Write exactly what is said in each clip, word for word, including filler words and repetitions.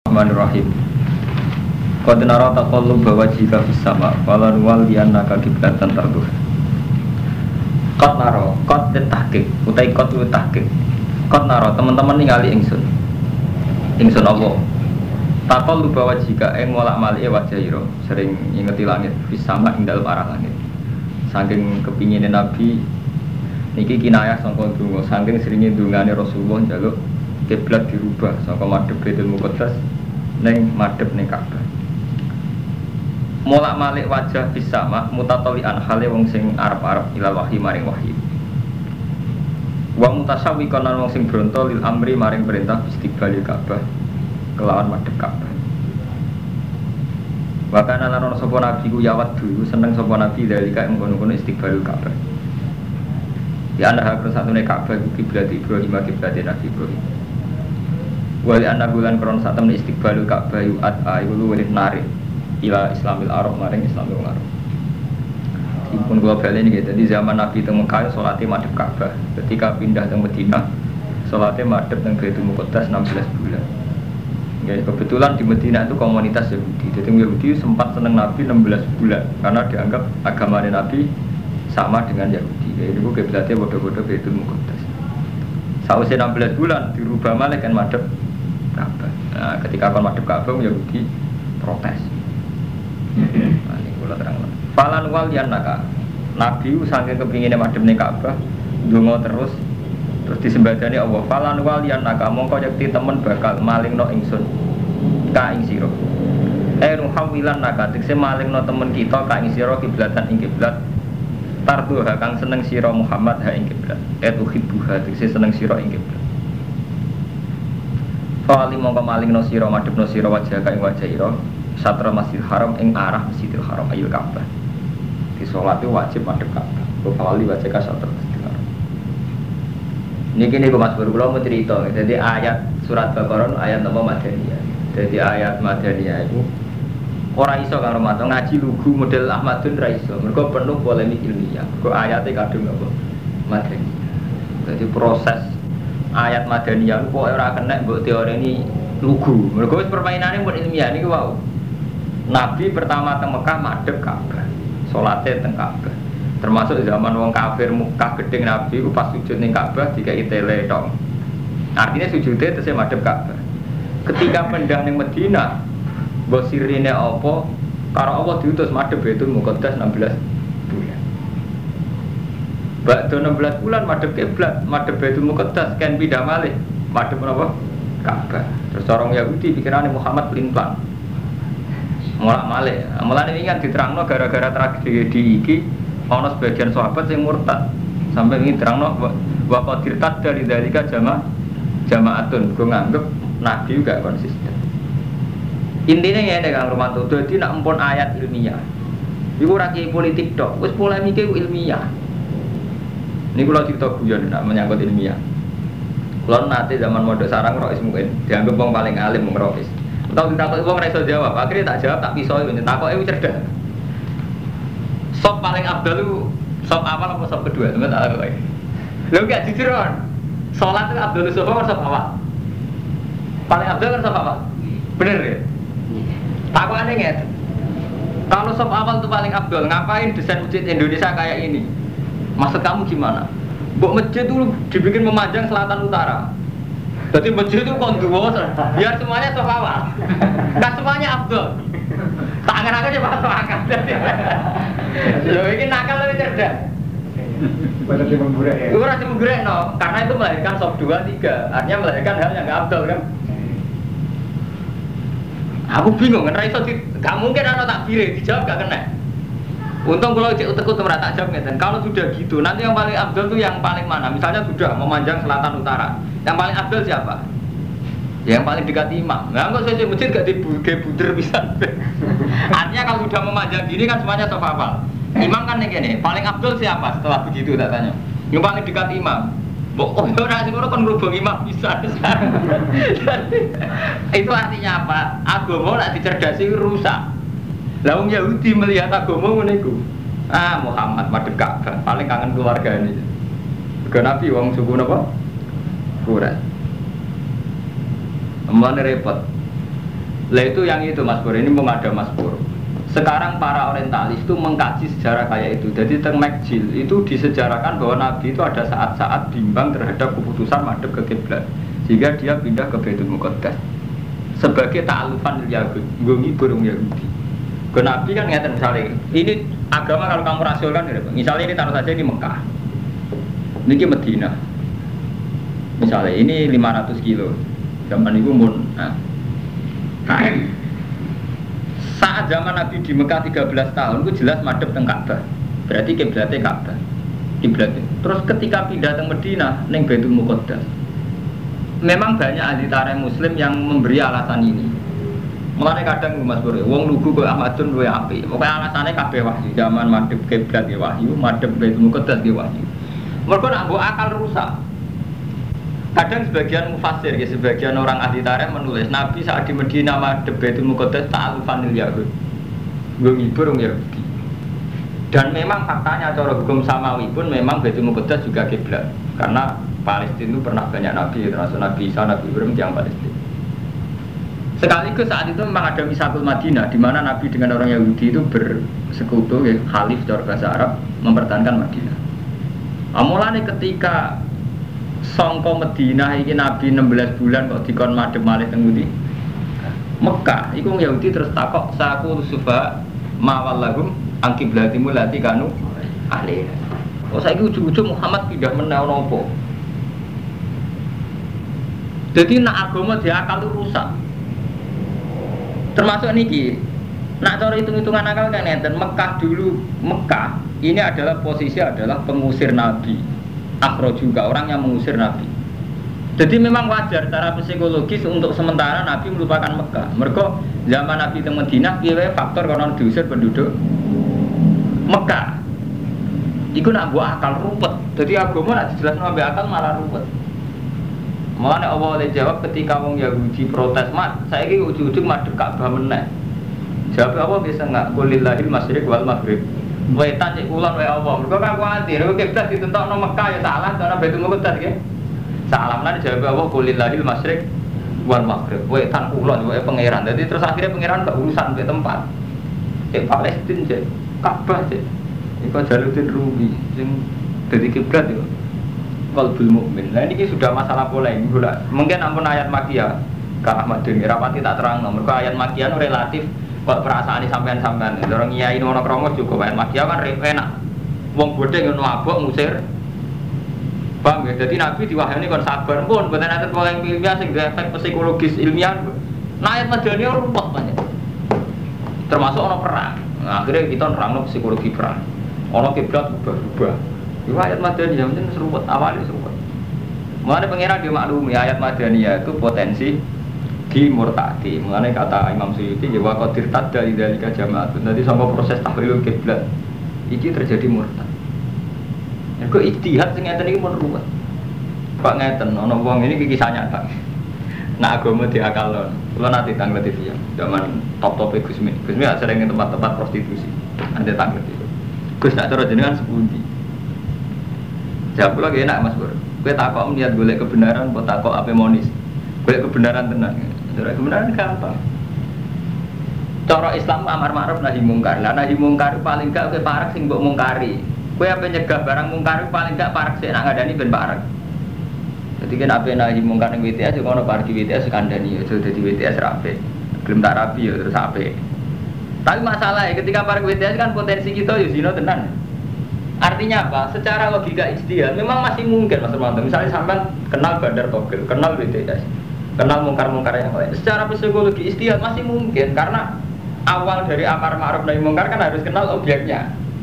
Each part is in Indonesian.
Bismillahirrahmanirrahim. Qad nara taqalluba wajhika fis sama' wala nuwalliyannaka qiblatan tarduha. Qad nara, qad tahqiq, utai qad lu tahqiq. Qad nara teman-teman ningali ingsun. Ingsun Allah. Taqalluba wajhika ing molak-malike wajah ira, sering ingeti langit fis sama' ing dalem arah langit. Saking kepingine Nabi niki kinayah sangka donga, saking seringe dongane Rasulullah njaluk kiblat dirubah saka madhep Baitul Muqaddas ning madhep ning Ka'bah. Molak-malik wajah bisa mak mutatolian hale wong sing arep-arep ilal wahyi maring wahyi. Wa mutasawwiqan lan wong sing bronto lil amri maring perintah istiqbalil Ka'bah kelawan madhep Ka'bah. Wa kana lan ana sapa nabi ku yawat dulu seneng sapa nabi dalika ing kono-kono istiqbalil Ka'bah. Ya ana hak satuné Ka'bah iku kiblat Ibrahim kiblat Nabi Ibrahim. Wali anak bulan kron saat temen istiqbalul Ka'bah yu'ad ayu luwih narik ila Islamil Arab maring Islamil Arab. Dipun kula bali niki dadi zaman Nabi teng Mekah salate madhep Ka'bah. Ketika pindah teng Madinah salate madhep teng Baitul Muqaddas enam belas bulan. Ya kebetulan di Madinah itu komunitas Yahudi. Jadi Yahudi sempat seneng Nabi enam belas bulan karena dianggap agama Nabi sama dengan Yahudi. Ya itu kiblatnya bodoh-bodoh Baitul Muqaddas. Sausé enam belas bulan dirubah malah kan madhep Ka'bah. Nah, ketika kon madhep Ka'bah Yahudi protes. Nah, ini kula terangno. Falan wal yanaka. Nabi saking kepingine madhep ning Ka'bah, ndonga terus terus disembadani Allah. Falan wal yanaka mongko yakti temen bakal malingno ingsun ka ing sira. Eh ruhawilan naka tekse malingno temen kita ka ing sira kiblatan ing kiblat. Tarduha kang seneng sira Muhammad ha ing kiblat. Et uhibbuha tekse seneng sira ing kiblat. Fali mongko malingno sira madhepno sira wajah ka ing wajah ira satra Masjidil Haram ing arah Masjidil Haram ayul Ka'bah. Di salat itu wajib madhep Ka'bah. Fali wajah ka satra Masjidil Haram. Niki niku Mas Bro kula mau cerita. Jadi ayat surat Baqarah ayat apa Madaniyah. Jadi ayat Madaniyah itu ora iso karo maca ngaji lugu model Ahmadun ra iso. Mergo penuh polemik ilmiah. Mergo ayate kadung apa Madaniyah. Jadi proses ayat Madaniyah kok ora kena mbok teorine lugu. Mergo wis permainane mun ilmiah niku wau. Nabi pertama teng Mekah madhep Ka'bah. Salate teng Ka'bah. Termasuk zaman wong kafir Mekah gedeng Nabi ku pas sujud ning Ka'bah dikai tele tok. Artinya sujude tesih madhep Ka'bah. Ketika pindah ning Madinah, mbok sirine apa? Karo Allah diutus madhep Baitul Muqaddas enam belas bulan. Bakdo enam belas bulan madhep kiblat, madhep Baitul Muqaddas kan pindah malih madhep napa? Ka'bah. Terus orang Yahudi pikirane Muhammad pelin-pelan. Molak-malih. Mulane iki kan diterangno gara-gara tragedi iki ana sebagian sahabat sing murtad. Sampai ini terangno wa qadirtat dari dalika jama jamaatun. Gue nganggep Nabi juga konsisten. Intinya ngene Kang Romanto, dadi nak empun ayat ilmiah. Iku ora kiai politik tok, wis polemike ilmiah. Ini kalau cerita guyon nak menyangkut ilmiah. Kalau nanti zaman modal sarang rois mungkin dianggap wong paling alim wong rois. Tahu ditakut wong ora iso jawab, akhirnya tak jawab tak pisau itu takoke cerdas. Sop paling abdal lu sop awal apa sop kedua? Temen tak takoki. Lho gak jujur kan. Salat itu abdal sop apa sop awal? Paling abdal kan sop awal. Bener ya? Takokane ngene. Kalau sop awal itu paling abdal, ngapain desain masjid Indonesia kayak ini? Maksud kamu gimana? Mbok masjid itu dibikin memanjang selatan utara. Jadi masjid itu konduo, biar semuanya sop awal. Enggak semuanya abdul. Tangan-tangan coba masuk akal. Loh ini nakal lebih cerdas. Pada si menggurek ya? Itu rasa menggurek no, karena itu melahirkan sop dua, tiga. Artinya melahirkan hal yang enggak abdul kan. Aku bingung kan, Raiso gak mungkin anak takbir dijawab gak kena. Untung kalau cek utek utek tak jawab ngeten. Kalau sudah gitu, nanti yang paling abdul itu yang paling mana? Misalnya sudah memanjang selatan utara, yang paling abdul siapa? Yang paling dekat imam. Nah, kok saya masjid gak dibuge buder bisa. Artinya kalau sudah memanjang gini kan semuanya sop awal. Imam kan yang gini, paling abdul siapa setelah begitu tak tanya? Yang paling dekat imam. Oh, orang sing ora kon ngrubung imam bisa. Itu artinya apa? Agama nek dicerdasi rusak. Lah wong Yahudi melihat agama ngene iku. Ah, Muhammad madhep Ka'bah, paling kangen keluargane. Mergo Nabi wong suku napa? Quraisy. Mulane repot. Lah itu yang itu Mas Pur, ini mau ada Mas Pur. Sekarang para orientalis itu mengkaji sejarah kayak itu. Jadi teng Makjil itu disejarahkan bahwa Nabi itu ada saat-saat bimbang terhadap keputusan madhep ke kiblat, sehingga dia pindah ke Baitul Muqaddas sebagai ta'alufan Yahudi, nggo ngibur wong Yahudi. Ke Nabi kan ngeten misalnya, ini agama kalau kamu rasionalkan gitu. Misalnya ini taruh saja ini Mekah. Ini Madinah. Misalnya ini lima ratus kilo. Zaman itu mun nah. Nah, saat zaman Nabi di Mekah tiga belas tahun itu jelas madhep teng Ka'bah. Berarti kiblatnya Ka'bah. Kiblatnya. Terus ketika pindah teng Madinah ning Baitul Muqaddas. Memang banyak ahli tarikh muslim yang memberi alasan ini. Mulane kadang Mas Pur, wong lugu kok Ahmadun luwe apik. Pokoke alasane kabeh wahyu. Zaman madhep kiblat ya wahyu, madhep Baitul Muqaddas ya wahyu. Mergo nak mbok akal rusak. Kadang sebagian mufassir, ya, sebagian orang ahli tarikh menulis Nabi saat di Medina madhep Baitul Muqaddas ta'alufanil Yahud, nggo ngibur wong Yahudi. Dan memang faktanya cara hukum samawi pun memang Baitul Muqaddas juga kiblat, karena Palestina itu pernah banyak nabi, termasuk Nabi Isa, Nabi Ibrahim yang Palestina. Sekaligus saat itu memang ada Misakul Madinah, di mana Nabi dengan orang Yahudi itu bersekutu, ya, khalif cara bahasa Arab mempertahankan Madinah. Amulane ketika sangka Madinah iki Nabi enam belas bulan kok dikon madhep malih teng ngendi? Mekah. Iku Yahudi terus takok saku sufa mawallahum angkiblatimu lati kanu ahli. Kok saiki ujug-ujug Muhammad pindah meneh napa? Jadi nak agama diakal itu rusak. Termasuk niki. Nak cara hitung-hitungan akal kan enten Mekah dulu, Mekah ini adalah posisi adalah pengusir Nabi. Akhro juga orang yang mengusir Nabi. Jadi memang wajar secara psikologis untuk sementara Nabi melupakan Mekah. Mereka zaman Nabi di Madinah, piye faktor karena diusir penduduk Mekah. Iku nak buat akal ruwet. Jadi agama nak dijelaskan sampai akal malah ruwet. Makanya Allah oleh jawab ketika wong Yahudi protes, mat, saya ini ujung-ujung madhep Ka'bah meneh. Jawab Allah bisa nggak? Qulillahil masyriq wal maghrib. Wetan cek kulon wae Allah. Mergo kan kuwatir, kok kiblat ditentokno Mekah ya salah, karena Baitul Muqaddas nggih. Salah lan jawab Allah qulillahil masyriq wal maghrib. Wetan kulon wae pangeran. Jadi terus akhirnya pangeran gak urusan ke tempat. Cek Palestina cek Ka'bah cek. Iku Jaluddin Rumi sing dadi kiblat yo. Qalbul mukmin. Nah ini sudah masalah polemik. Mungkin ampun ayat Makkiyah Kak Ahmad Deni rapati tak terang. Mergo ayat Makkiyah relatif kok perasaan ini sampean-sampean. Orang nyai ono kromo juga ayat Makkiyah kan enak. Wong bodhe ngono abok ngusir. Paham ya? Jadi Nabi diwahyani kon sabar pun mboten enten polemik ilmiah sing efek psikologis ilmiah. Nah ayat Madaniyah rumput banyak. Termasuk ono perang. Nah, akhirnya kita nerangno psikologi perang. Ono kiblat berubah-ubah. Ayat Madaniyah mungkin seruput awalnya seruput. Mulane pangeran dia maklumi ayat Madaniyah itu potensi dimurtadi. Mulane kata Imam Suyuti ya wa qadir tadda lidzalika jama'atun. Nanti sama proses tahlilul kiblat iki terjadi murtad. Ya kok ijtihad sing ngeten iki mun ruwet. Pak ngeten ana wong ini kisah nyata. Nah agama diakalon. Kula nanti tanglet T V ya. Zaman top-top Gusmi. Gusmi sering ke tempat-tempat prostitusi. Anda tanglet itu. Gus nak cara jenengan sepundi? Jawab lagi enak Mas Bro. Gue takok melihat golek kebenaran, buat takok apa monis. Golek kebenaran tenang. Golek kebenaran gampang. Cara Islam amar ma'ruf nahi mungkar. Lah nahi mungkar paling gak kowe parek sing mbok mungkari. Kowe ape nyegah barang mungkar paling gak parek sik nak ngandani ben parek. Dadi kan ape nahi mungkar ning W T S kono parek W T S kandhani ya dadi W T S rapi. Gelem tak rapi ya terus apik. Tapi masalahnya ketika parek W T S kan potensi kita ya zina tenan. Artinya apa? Secara logika ijtihad memang masih mungkin Mas Romanto. Misalnya sampean kenal Bandar Togel, kenal W T S, kenal mungkar-mungkar yang lain. Secara psikologi ijtihad masih mungkin karena awal dari amar ma'ruf nahi mungkar kan harus kenal objeknya.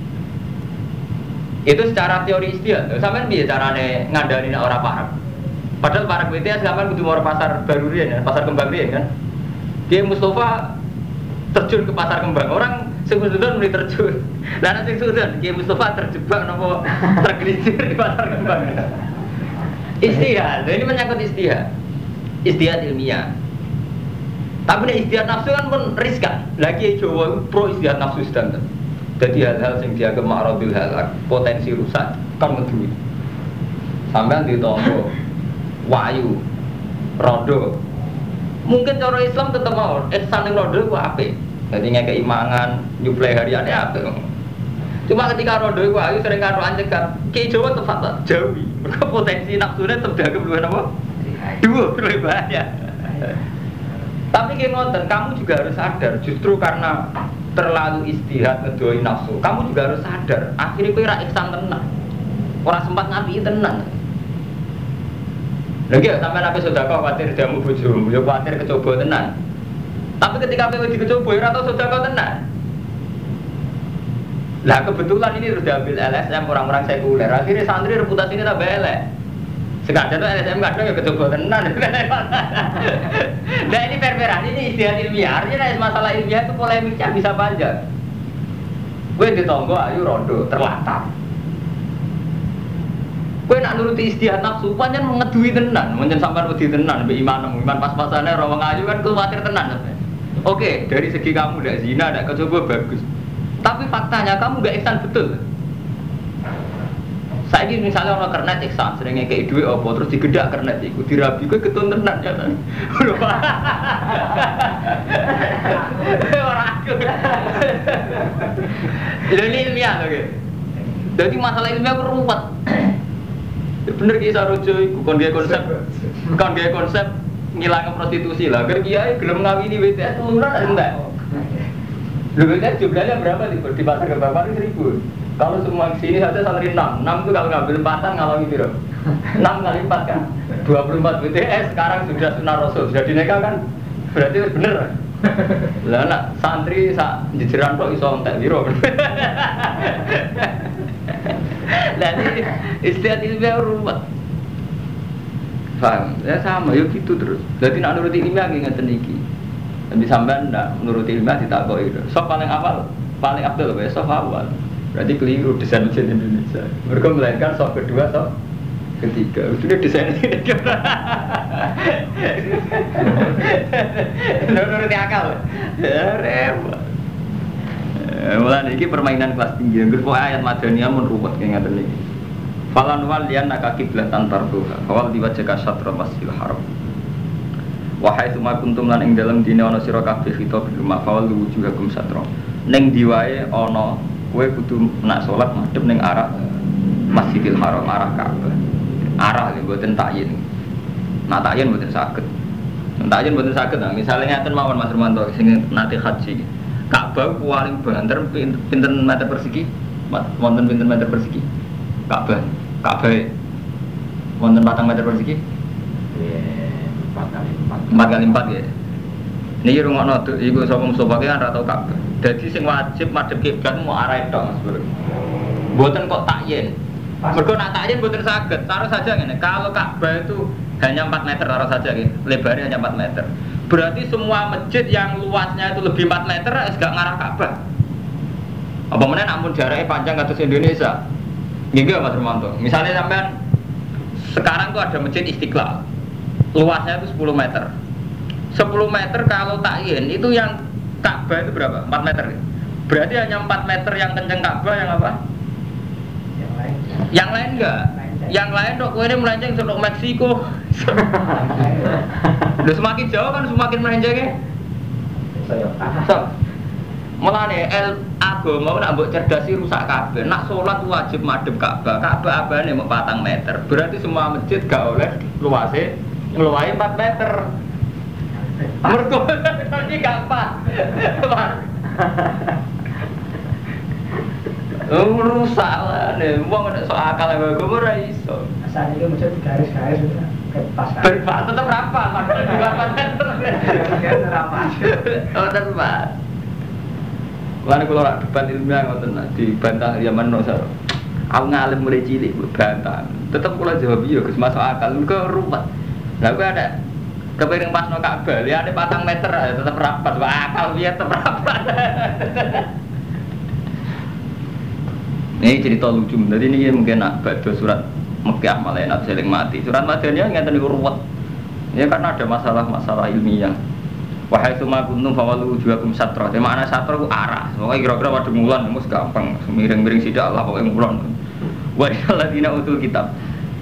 Itu secara teori ijtihad. Sampean piye carane ngandani nek ora parek? Padahal parek W T S sampean kudu mau pasar baru riyen ya, pasar kembang riyen kan. Dia Mustafa terjun ke pasar kembang. Orang sing sudah mulai terjun. Lah nek sing sudah Ki Mustafa terjebak napa tergelincir di pasar kembang. Istihad, ini menyangkut istihad. Istihad ilmiah. Tapi nek istihad nafsu kan pun riskan. Lagi Jawa pro istihad nafsu standar. Jadi hal-hal yang dianggap ma'radil halak, potensi rusak kan ngedui. Sampean ditombo wayu rodo Mungkin cara Islam tetap mau ihsan ning rondo ku apik. Dadi ngekeki mangan, nyuplai hariane apik. Cuma ketika rondo iku ayu sering karo ancekan, Ki Jawa tepat Jawi. Mergo potensi nafsune tetep dagem luwih napa? Dua luwih bahaya. Tapi ki ngoten, kamu juga harus sadar justru karena terlalu istihad ngedoi nafsu. Kamu juga harus sadar, akhirnya kowe ra ihsan tenan. Ora sempat ngapi tenan. Lagi sampai nabi sedekah khawatir jamu bojomu, ya khawatir kecoba tenan. Tapi ketika kowe dikecoba ora tau sedekah tenan. Lah kebetulan ini sudah ambil L S M orang-orang sekuler. Akhirnya santri reputasinya tambah elek. Sekadar tuh L S M kadang ya kecoba tenan. Nah ini per-peran, ini istilah ilmiah. Artinya masalah ilmiah itu polemiknya bisa panjang. Kowe ditonggo ayu rondo terlantar. Kowe nak nuruti istihad nafsu, pancen ngedui tenan, pancen sampean wedi tenan mbek iman, iman pas-pasane ora wong ayu kan kuwatir tenan. Oke, dari segi kamu ndak zina, ndak kecoba bagus. Tapi faktanya kamu nggak ihsan betul. Saiki misalnya orang kernet ihsan, sering ngekeki dhuwit apa terus digedak kernet iku dirabi kowe ketun tenan ya kan. Ora aku. Ini ilmiah lho. Jadi masalah ilmiah ku ruwet. Bener ki sarojo iku kon gawe konsep kon gawe konsep ngilangke prostitusi lah. Kan kiai gelem ngawini W T S teluran enggak? Lho kan jumlahnya berapa di, di pasar Kebakar seribu. Kalau semua sini saja santri enam, enam itu kalau ngambil empatan ngalami piro? enam kali empat kan? dua puluh empat W T S sekarang sudah sunah rasul, sudah dinikah kan? Berarti bener. Lah nak santri sak jejeran kok iso entek piro? Lah ini istiadat ilmiah ruwet. Paham? Ya sama, yuk gitu terus. Jadi nak nuruti ilmiah ngeten iki. Tapi sampean ndak menuruti ilmiah ditakoki. Sok paling awal, paling abdul wae sok awal. Berarti keliru desain mesin Indonesia. Mereka melainkan sok kedua, sok ketiga. Sudah desain ini. Nuruti akal. Ya repot. Mulane iki permainan kelas tinggi. Engko ayat madaniyah mun ruwet kaya ngaten iki. Falan wal yanaka qiblatan tarduha. Fawal diwajhaka syatra masjidil haram. Wahai suma kuntum lan ing dalem dine ana sira kabeh khitab bil mafawal wujuhakum satra. Ning diwae ana kowe kudu nak salat madhep ning arah Masjidil Haram, arah Ka'bah. Arah lho mboten takyin. Nak takyin mboten saged. Takyin mboten saged. Nah, misale ngaten mawon Mas Romanto sing nate haji. Ka'bah paling banter pinten meter persegi? Wonten pinten meter persegi? Ka'bah. Ka'bah wonten patang meter persegi? empat kali empat ya. Niki rungokno iku sapa Mustofa ki kan ora tau Ka'bah. Dadi sing wajib madhep kiblat mau arah tok Mas Bro. Mboten kok takyin. Mergo nak takyin mboten saged. Taruh saja ngene, kalau Ka'bah itu hanya empat meter taruh saja nggih. Lebarnya hanya empat meter. Berarti semua masjid yang luasnya itu lebih empat meter wis gak ngarah Ka'bah. Apa meneh namun jaraknya panjang kados Indonesia. Nggih Mas Romanto. Misalnya sampean sekarang tuh ada masjid Istiqlal. Luasnya itu sepuluh meter. sepuluh meter kalau takyin itu yang Ka'bah itu berapa? empat meter. Berarti hanya empat meter yang kenceng Ka'bah yang apa? Yang lain. Yang lain enggak? Yang lain dok kowe ini melenceng sampai Meksiko. Udah semakin jauh kan semakin melencengnya. So, mulane el agama nak mbok cerdasi rusak kabeh. Nak salat wajib madhep Ka'bah. Ka'bah abane mung patang meter. Berarti semua masjid gak oleh luase ngluwahi empat meter. Mergo iki gak pas. Oh rusak lah, nih, uang ada soal akal yang gue ora iso. Asal itu macam garis-garis itu pas. Berpas tetap berapa? Makanya juga pas tetap. Berapa? Oh tetap. Lalu kalau orang debat ilmiah ngoten dibantah zaman Nosar. Aku ngalim mulai cilik bantah. Tetap kalau jawab iya, gus masuk akal. Gue ruwet. Lah gue ada kepiring pas no Ka'bah, lihat ada patang meter tetap rapat. Wah akal dia tetap rapat. Ini cerita lucu, jadi ini mungkin nak baca surat Mekkah malah enak seling mati. Surat Madaniyah nggak tahu ruwet. Ya karena ada masalah-masalah ilmiah. Wahai suma kuntum fawalu wujuhakum satra. Di mana satra itu arah. Pokoknya kira-kira pada mulan, mus gampang. Miring-miring sidak lah pokoknya mulan. Wa alladzina utul kitab.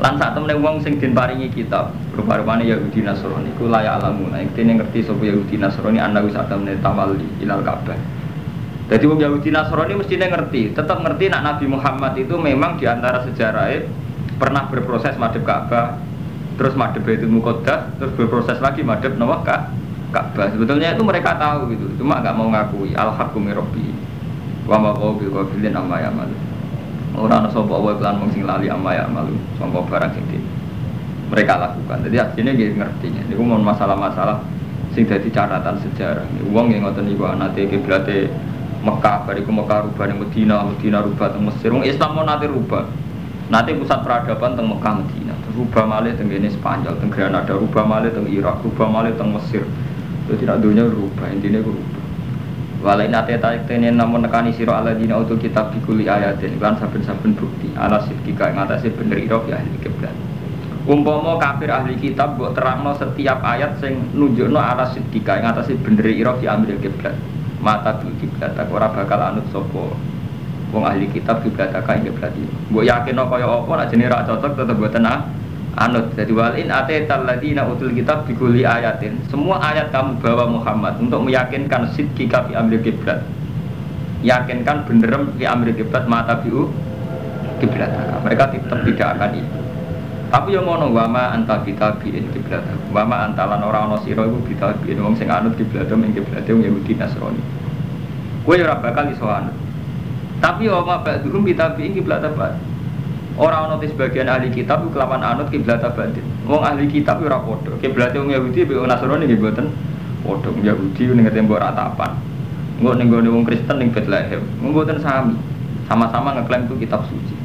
Lan sak temene wong sing den paringi kitab, rupa-rupane Yahudi Nasrani iku layak alamun. Iktine ngerti sapa Yahudi Nasrani ana wis sak temene tawalli ilal Ka'bah. Jadi wong Yahudi Nasrani mestinya ngerti, tetap ngerti nak Nabi Muhammad itu memang diantara sejarahnya pernah berproses madhep Ka'bah, terus madhep Baitul Muqaddas, terus berproses lagi madhep Nawah Ka'bah. Sebetulnya itu mereka tahu gitu, cuma nggak mau ngakui al-haqqu min rabbi wa ma huwa bi ghafilin amma ya'malun. Ora ana sapa wae lan mung sing lali amma ya'malun, sangka barang sing mereka lakukan. Jadi akhirnya dia ngertinya. Niku mon masalah-masalah sing dadi catatan sejarah. Wong yang ngoten niku anate kiblate Mekah, bariku Mekah rubah ning Madinah, Madinah rubah teng Mesir. Wong Islam mau nate rubah. Nate pusat peradaban teng Mekah Madinah. Rubah malih teng kene Spanyol, teng Granada, rubah malih teng Irak, rubah malih teng Mesir. Itu tidak dunia rubah, intine ku rubah. Walai nate tarik tenen namun nekani sira alladzina utul kitab bikuli ayatin lan saben-saben bukti ala sidqika ing atase bener ira ya ahli kiblat. Umpama kafir ahli kitab mbok terangno setiap ayat sing nunjukno ala sidqika ing atase bener ira fi amril kiblat. Mata bil kiblat ora bakal anut sapa wong ahli kitab kiblat ka ing kiblat iki. Mbok yakinno kaya apa nek jenenge ra cocok tetep mboten anut. Jadi walin atetal ladina utul kitab bikuli ayatin. Semua ayat kamu bawa Muhammad untuk meyakinkan sidqika fi amri kiblat. Yakinkan benerem fi amri kiblat mata biu kiblat. Mereka tetap tidak akan itu. Tapi yang ngono wama anta bitabiin kiblat. Wama antalan ora ana sira iku bitabiin wong sing anut kiblat ing kiblat wong Yahudi Nasrani. Kowe ora bakal iso anut. Tapi wama ba'dhum bitabiin kiblat apa? Orang ono sebagian ahli kitab itu kelawan anut kiblat batin. Wong ahli kitab ora padha. Kiblate wong Yahudi mbek wong Nasrani nggih mboten padha. Wong Yahudi ning tembok ratapan. Engko ning gone wong Kristen ning Bethlehem. Mboten sami. Sama-sama ngeklaim itu kitab suci.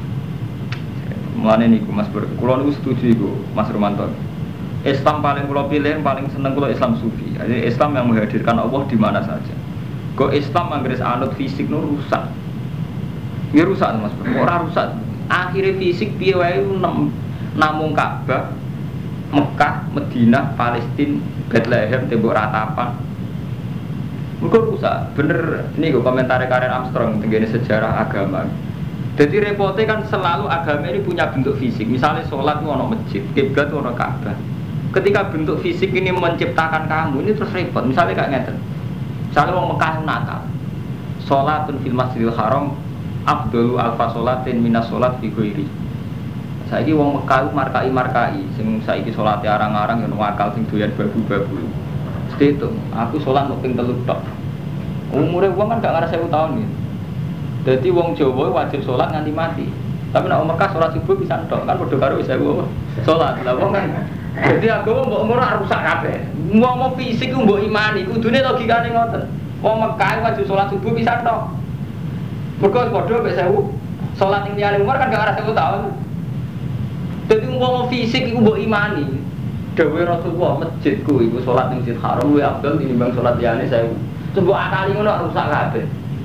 Mulane niku Mas Bur, kula niku setuju iku Mas Romanto. Islam paling kula pilih, paling seneng kula Islam sufi. Jadi Islam yang menghadirkan Allah di mana saja. Kok Islam anggere anut fisik nu rusak. Ya rusak Mas Bur. Ora rusak. Akhirnya fisik piye wae namung Ka'bah, Mekah, Madinah, Palestina, Bethlehem, tembok ratapan. Mergo rusak. Bener niku komentar Karen Armstrong tentang sejarah agama. Jadi repotnya kan selalu agama ini punya bentuk fisik. Misalnya sholat itu ada masjid, kiblat itu ada Ka'bah. Ketika bentuk fisik ini menciptakan kamu, ini terus repot. Misalnya kayak ngeten. Misalnya orang Mekah nakal. Sholatun fil Masjidil Haram Abdul alfa sholatin minas sholat fi ghairi. Saiki wong Mekah markai-markai sing saiki salate arang-arang yen wakal sing doyan babu-babu. Mesti itu, aku sholat mung ping telu tok. Umure wong kan gak ngarep seribu tahun iki. Dadi wong Jawa wajib sholat nganti mati. Tapi nek wong Mekah sholat subuh bisa tok, kan padha karo seribu sholat. Lah wong kan jadi agama mbok ora rusak kabeh. Wong mau fisik ku mbok imani, kudune logikane ngoten. Wong Mekah wajib sholat subuh bisa tok. Mereka bodoh sampai sewu sholat yang tiada umur kan gak ada sewu tahun. Jadi umpama fisik itu mbok imani. Dewe Rasulullah masjidku itu sholat yang Masjid Haram luwih afdal tinimbang sholat liyane sewu. Coba akali ngono rusak kabeh.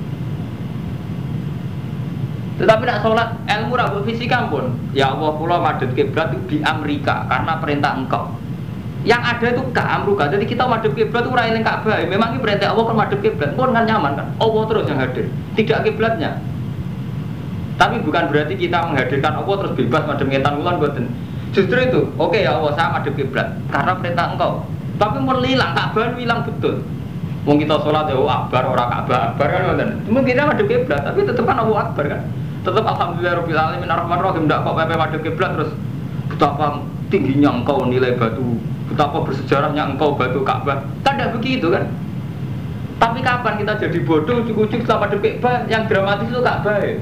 Tetapi nak sholat ilmu ra mbok fisik ampun. Ya Allah kula madhep kiblat di Amerika karena perintah engkau. Yang ada itu Ka'amruka. Jadi kita madhep kiblat itu ora eling Ka'bah. Memang ini perintah Allah kan madhep kiblat. Pun kan nyaman kan. Allah terus yang hadir. Tidak kiblatnya. Tapi bukan berarti kita menghadirkan Allah terus bebas madhep ngetan ulan mboten. Justru itu, oke okay, ya Allah saya madhep kiblat karena perintah engkau. Tapi mun hilang Ka'bah hilang betul. Wong kita sholat ya akbar ora Ka'bah akbar kan ngoten. Mungkin kita madhep kiblat tapi tetep kan Allah akbar kan. Tetep alhamdulillahirabbil alamin arrahmanir rahim ndak kok pepe madhep kiblat terus betapa tingginya engkau nilai batu, betapa bersejarahnya engkau batu Ka'bah. Kan tidak begitu kan? Tapi kapan kita jadi bodoh ujuk-ujuk sama Ka'bah yang dramatis itu Ka'bah ya?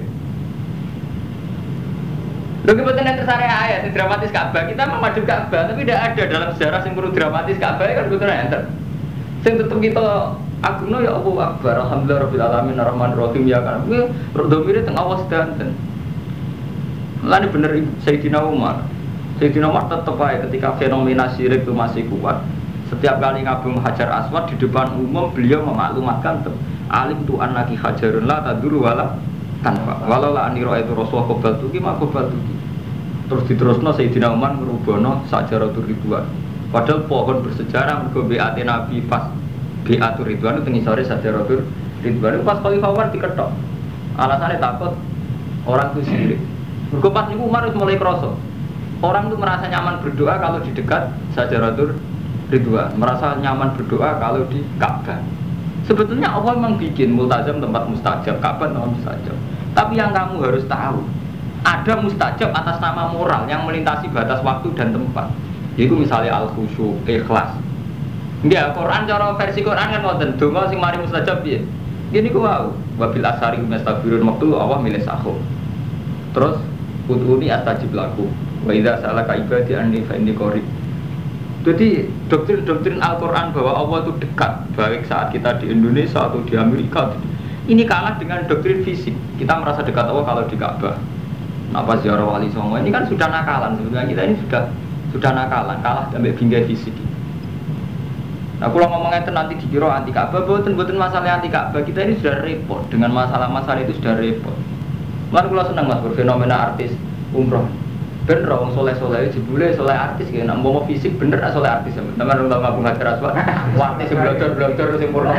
Lalu kebetulan yang tersari ayat yang dramatis Ka'bah, kita mau maju Ka'bah tapi tidak ada dalam sejarah yang perlu dramatis Ka'bah kan kebetulan enter. Yang tetap kita agungno ya Allah Akbar, alhamdulillah alamin arrahmanir rahim ya kan. Kuwi domire teng awas danten. Lan bener Sayyidina Umar. Sayyidina Umar tetap aja ketika fenomena syirik itu masih kuat. Setiap kali ngabung Hajar Aswad di depan umum beliau memaklumatkan tuh alim tu anaki hajarun la taduru wala tanpa walau la aniro itu Rasulullah qobal tuki mak qobal tuki. Terus diterusno Sayyidina Umar merubono sajaratul ridwan. Padahal pohon bersejarah mergo beate Nabi pas beatur ridwan itu ngisore sajaratul ridwan pas Khalifah Umar diketok. Alasannya takut orang itu syirik. Mergo pas niku Umar wis mulai krasa. Orang tuh merasa nyaman berdoa kalau di dekat Sajaratul Ridwan, merasa nyaman berdoa kalau di Ka'bah. Sebetulnya Allah memang bikin multazam tempat mustajab, Ka'bah tempat mustajab. Tapi yang kamu harus tahu, ada mustajab atas nama moral yang melintasi batas waktu dan tempat. Yaitu misalnya al-khusyu, ikhlas. Enggak, Quran cara versi Quran kan ngoten, donga sing mari mustajab piye? Gini ku wau, wabil asari mustagfirun waktu Allah milih sahur. Terus ud'uni astajib lakum. Wa idza sa'alaka ibadi anni fa inni qarib. Jadi doktrin-doktrin Al-Quran bahwa Allah itu dekat, baik saat kita di Indonesia atau di Amerika, ini kalah dengan doktrin fisik. Kita merasa dekat Allah kalau di Ka'bah. Apa ziarah wali songo ini kan sudah nakalan. Sebenarnya kita ini sudah sudah nakalan, kalah sampai bingkai fisik. Nah, kalau ngomongnya itu nanti dikira anti Ka'bah, bukan-bukan masalah anti Ka'bah. Kita ini sudah repot dengan masalah-masalah itu sudah repot. Lalu kalau senang mas berfenomena artis umroh. Bener orang soleh-soleh jebule soleh artis kayak nak mau fisik bener nak soleh artis teman-teman tahu ngabung hajar aswad artis yang belajar-belajar yang purna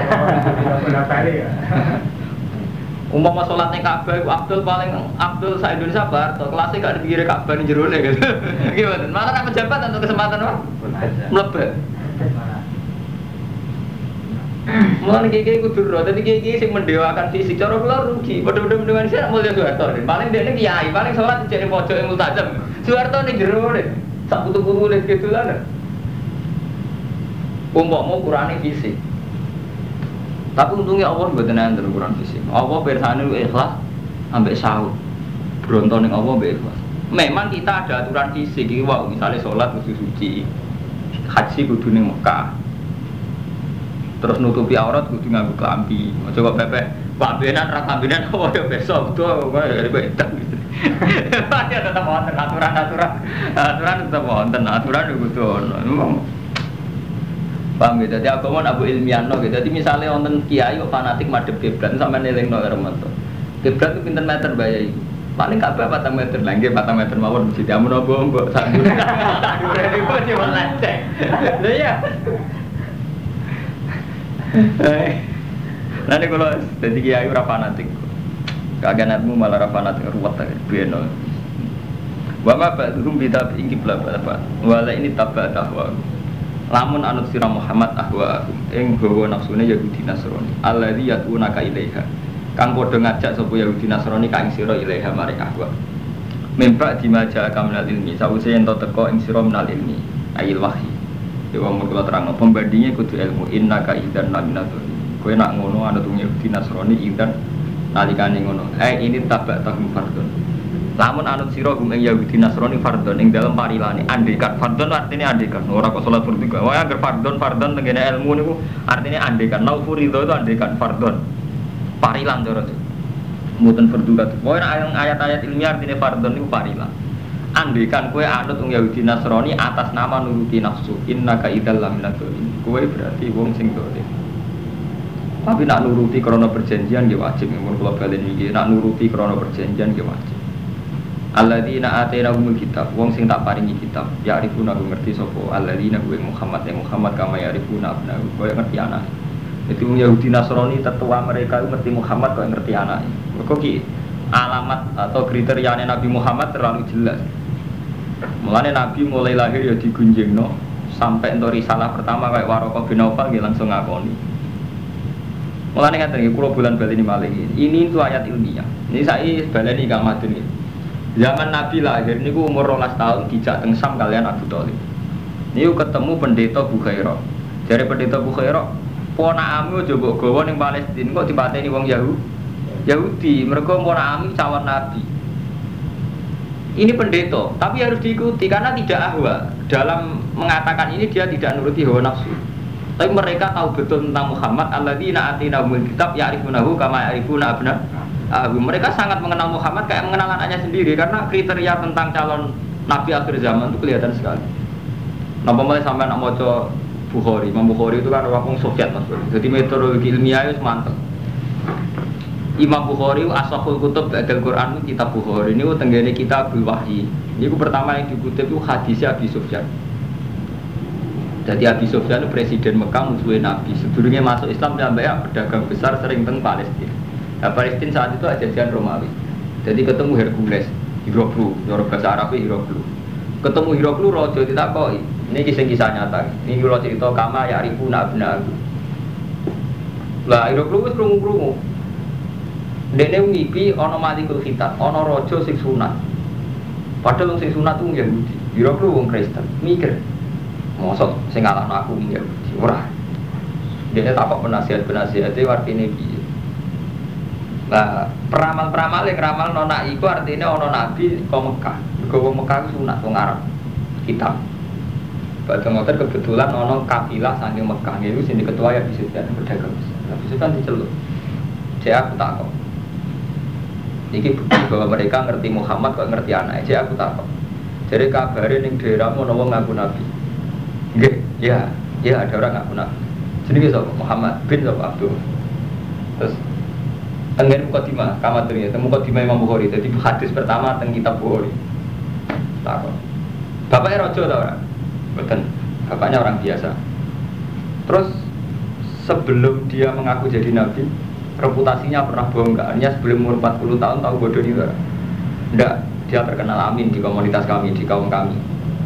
umpama sholatnya Ka'bah itu Abdul paling Abdul sa Indonesia bar atau kelasnya gak dipikir Ka'bah ini jerone gitu gimana malah nak pejabat untuk kesempatan apa melebat mulai gigi kudu roh, tapi gigi sing mendewakan fisik, cara kula rugi. Padha-padha mendewakan sih mulya Soeharto. Paling dhekne kiai, paling sholat dijene pojok yang multazam. Soeharto ning jero ne. Sak putu-putu le kedulan. Umpama ukurane fisik. Tapi untungnya Allah mboten enten ukuran fisik. Allah pirsane ikhlas ambek sahur. Bronto ning Allah mbek ikhlas. Memang kita ada aturan fisik iki wae, misale sholat kudu suci. Haji kudu ning Mekah. Terus nutupi aurat kudu nganggo klambi. Aja kok pepek, Pak Benan ra klambinan apa ya besok tuh kok dari bedak gitu. Ya tetep wonten aturan-aturan. Aturan tetep wonten, aturan kudu ono. Paham ya, dadi agama abu ilmiahno gitu. Dadi misale wonten kiai kok fanatik madhep kiblat sampeyan nelingno karo metu. Kiblat ku pinten meter bae iki? Paling kabeh patang meter, lha nggih patang meter mawon mesti amun mbok sak dure. Sak dure niku cuma lecek. Lha iya. Nanti kalau jadi kiai ora fanatik, kaganatmu malah ora fanatik ruwet ae beno. Wa ma ba'dhum bi tabi'in qibla apa? Wala ini tabba dahwa. Lamun anut sira Muhammad ahwa ing gawa nafsune Yahudi Nasrani. Alladzi yad'unaka ilaiha. Kang padha ngajak sapa Yahudi Nasrani ka ing sira ilaiha marek ahwa. Mimpa dimaja kamnal ilmi, sawise ento teko ing sira menal ilmi, ayil wahyi. Dewa mula terang, pembandingnya kudu ilmu inna ka idan naminatul. Kowe nak ngono anut Yahudi Nasrani idan nalikane ngono. Eh ini tabak tahum fardon. Lamun anut sira gum ing Yahudi Nasrani fardon ing dalem parilane. Andekan fardon artinya andekan. Ora kok salat fardhu. Wae agar fardon fardon tengene ilmu niku artinya andekan. Nau furido itu andekan fardon. Parilan cara itu. Mboten fardhu kat. Wae ayat-ayat ilmiah artinya fardon niku parilan. Andekan kue anut wong Yahudi Nasrani atas nama nuruti nafsu, innaka idzal laminatul. Kue berarti wong sing dolim. Tapi nak nuruti krana perjanjian nggih wajib, mun kula balen iki nak nuruti krana perjanjian nggih wajib. Alladzina atainahumul kitab, wong sing tak paringi kitab, ya arifuna ngerti sapa alladzina kuwi Muhammad ya Muhammad kama ya arifuna abnahu, kowe ngerti anak. Itu wong Yahudi Nasrani tetua mereka ngerti Muhammad kok ngerti anake. Kok ki alamat atau kriteriane Nabi Muhammad terlalu jelas. Mulane Nabi mulai lahir ya digunjingno sampai entuk risalah pertama kayak Waraqah bin Naufal nggih langsung ngakoni. Mulane ngaten iki kula bulan baleni malih ini itu ayat ilmiah. Ini saya baleni Kang Madun iki. Zaman Nabi lahir niku umur rolas tahun dijak teng Sam kalian Abu Thalib. Niku ketemu pendeta Bukhairah. Jare pendeta Bukhairah, ponakame aja mbok gawa ning Palestina kok dipateni wong Yahudi. Yahudi mergo ponakame cawan Nabi. Ini pendeta, tapi harus diikuti karena tidak ahwa. Dalam mengatakan ini dia tidak nuruti hawa nafsu. Tapi mereka tahu betul tentang Muhammad. Alladzina atinahumul kitab ya'rifunahu kama ya'rifuna abna'ahum. Mereka sangat mengenal Muhammad kayak mengenal anaknya sendiri karena kriteria tentang calon nabi akhir zaman itu kelihatan sekali. Napa mulai sampai nak maca Bukhari, Imam Bukhari itu kan orang Soviet Mas. Jadi metodologi ilmiah itu mantap. Imam Bukhari asahul kutub ba'dal Quran kitab Bukhari ini tenggene kitabul wahyi. Ini pertama yang dikutip itu hadisnya Abi Sufyan. Jadi Abi Sufyan itu presiden Mekah musuhnya Nabi. Sebelumnya masuk Islam sampai pedagang besar sering teng Palestina. Nah, Palestina saat itu jajahan Romawi. Jadi ketemu Hercules, Hiroklu, cara bahasa Arabnya Hiroklu. ketemu Hiroklu rojo ditakoki. Ini kisah kisah nyata. Ini kalau cerita kama ya ribu nabna. Lah Hiroklu wis krungu-krungu. Dene ngipi ana malikul khitab, ana raja sing sunat. Padahal wong sing sunat ku Yahudi. Hiroklu wong Kristen. Mikir. Mosok sing ngalahno aku Yahudi. Ora. Dene takok penasihat-penasihate artine piye. Nah, peramal-peramal yang ramal nona iku artinya ono nabi ke Mekah. Ke Mekah itu sunat wong Arab hitam. Pada motor kebetulan ono kafilah saking Mekah. Itu sini ketua ya bisa jadi berdagang. Tapi itu kan diceluk. Saya aku takut. Ini bukti bahwa mereka ngerti Muhammad kok ngerti anak. Saya aku takut. Jadi kabarin yang daerah mau ngomong ngaku nabi. Nggih, ya, ya ada orang ngaku nabi. Jadi so Muhammad bin so Abdul. Terus Tenggen Mukadimah, kamaturnya, temu Mukadimah Imam Bukhari. Jadi hadis pertama teng kitab Bukhari. Takut. Bapaknya rojo tau orang? Betul. Bapaknya orang biasa. Terus sebelum dia mengaku jadi nabi, reputasinya pernah bohong nggak? Hanya sebelum umur empat puluh tahun tahu bodoh juga. Enggak, dia terkenal amin di komunitas kami, di kaum kami.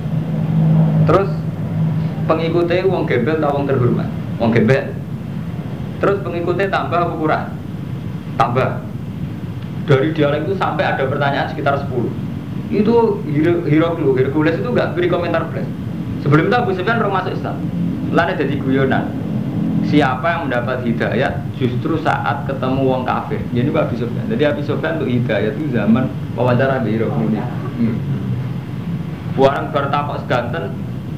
Terus pengikutnya wong gembel atau wong terhormat, wong gembel. Terus pengikutnya tambah ukuran. Tambah dari dialek itu sampai ada pertanyaan sekitar sepuluh. Itu Hiroklu, Hercules itu enggak beri komentar plus. Sebelum itu Abu Sufyan baru masuk Islam. Lalu jadi guyonan. Siapa yang mendapat hidayat justru saat ketemu wong kafir. Jadi Abu Sufyan. Jadi Abu Sufyan untuk hidayat itu zaman wawancara di Hiroklu ini. Hmm. Buang bertapak seganten.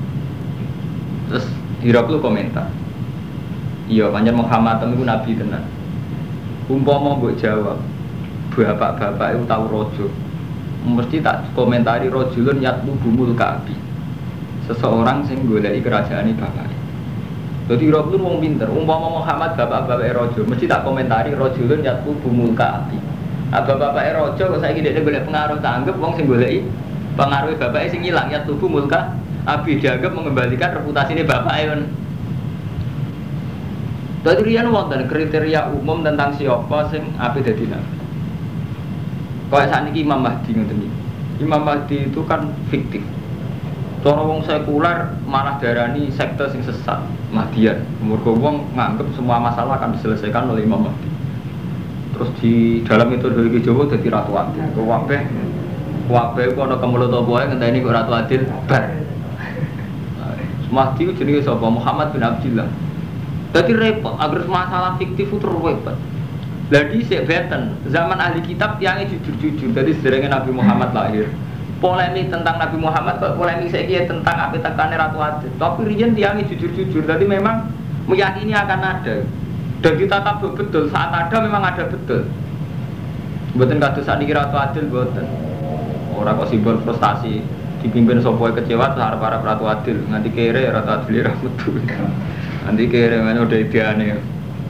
Terus Hiroklu komentar. Iya, panjang Muhammad itu nabi tenan. Umpama mbok jawab, bapak-bapak itu tahu rojo, mesti tak komentari rojulun yatlu bumul kabi. Seseorang sing goleki kerajaan bapak. Jadi rojulun wong pinter. Umpama Muhammad bapak-bapak rojo, mesti tak komentari rojulun yatlu bumul kabi. Nah bapak-bapak rojo, kok saya gini golek pengaruh tanggap, wong sing goleki pengaruh bapak sing hilang yatlu bumul kabi dianggap mengembalikan reputasi ini bapak kan. Jadi rian wonten kriteria umum tentang siapa sing ape dadi nabi. Kayak saniki Imam Mahdi ngoten iki. Imam Mahdi itu kan fiktif. Cara wong sekuler malah darani sekte sing sesat, Mahdian. Mergo wong nganggep semua masalah akan diselesaikan oleh Imam Mahdi. Terus di dalam metode Jawa dadi ratu adil. Kabeh kabeh ku ana kemulut apa wae ngenteni kok ratu adil bar. Mahdi ku jenenge sapa? Muhammad bin Abdullah. Jadi repot, agar masalah fiktif itu terwebet. Jadi sebeten zaman ahli kitab tiangnya jujur-jujur. Jadi sederhana Nabi Muhammad lahir. Polemik tentang Nabi Muhammad, polemik saya kira tentang apa tekannya Ratu Adil. Tapi rian tiangnya jujur-jujur. Jadi memang meyakini akan ada. Dan kita tahu betul saat ada memang ada betul. Buatan kados saat ini Ratu Adil buatan. Orang kok simbol frustasi dipimpin sopoi kecewa terhadap para Ratu Adil. Nanti kere Ratu Adil betul. Nanti kira-kira udah idealnya.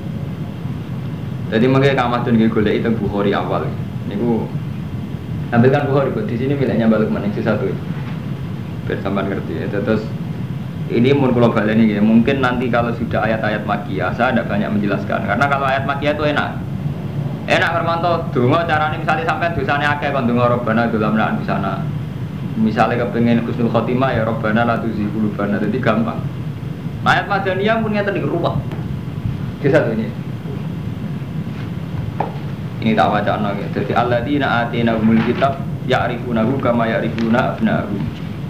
Jadi makanya kamadun gue golek itu Bukhari awal. Niku ambilkan Bukhari di sini miliknya balik mana itu satu. Biar sampean ngerti ya. Terus ini mun kula baleni ya. Mungkin nanti kalau sudah ayat-ayat Makkiyah saya ada banyak menjelaskan. Karena kalau ayat Makkiyah itu enak. Enak Hermanto, donga carane misalnya sampai dosane akeh kon donga Rabbana dolamna di sana. Misalnya kepengen husnul khotimah ya Rabbana la tuzigh qulubana. Jadi gampang. Ayat Madaniyah pun ngeten iki ruwet. Ki satu ini. Ini tak wacana ya. Jadi alladzina atinahumul kitab ya'rifunahu kama ya'rifuna abna'ahum.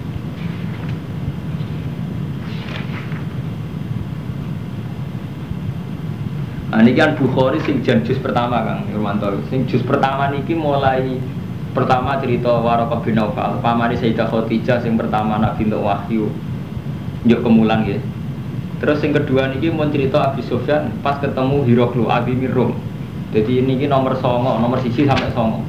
Nah ini kan Bukhari sing jan juz pertama Kang Irwanto. Sing juz pertama niki mulai pertama cerita Waraqah bin Naufal, pamane Sayyidah Khadijah sing pertama Nabi untuk wahyu. Njuk kemulan nggih. Terus yang kedua niki mau cerita Abi Sufyan pas ketemu Hiroklu Abi Mirum. Jadi ini nomor songo, nomor siji sampai songo.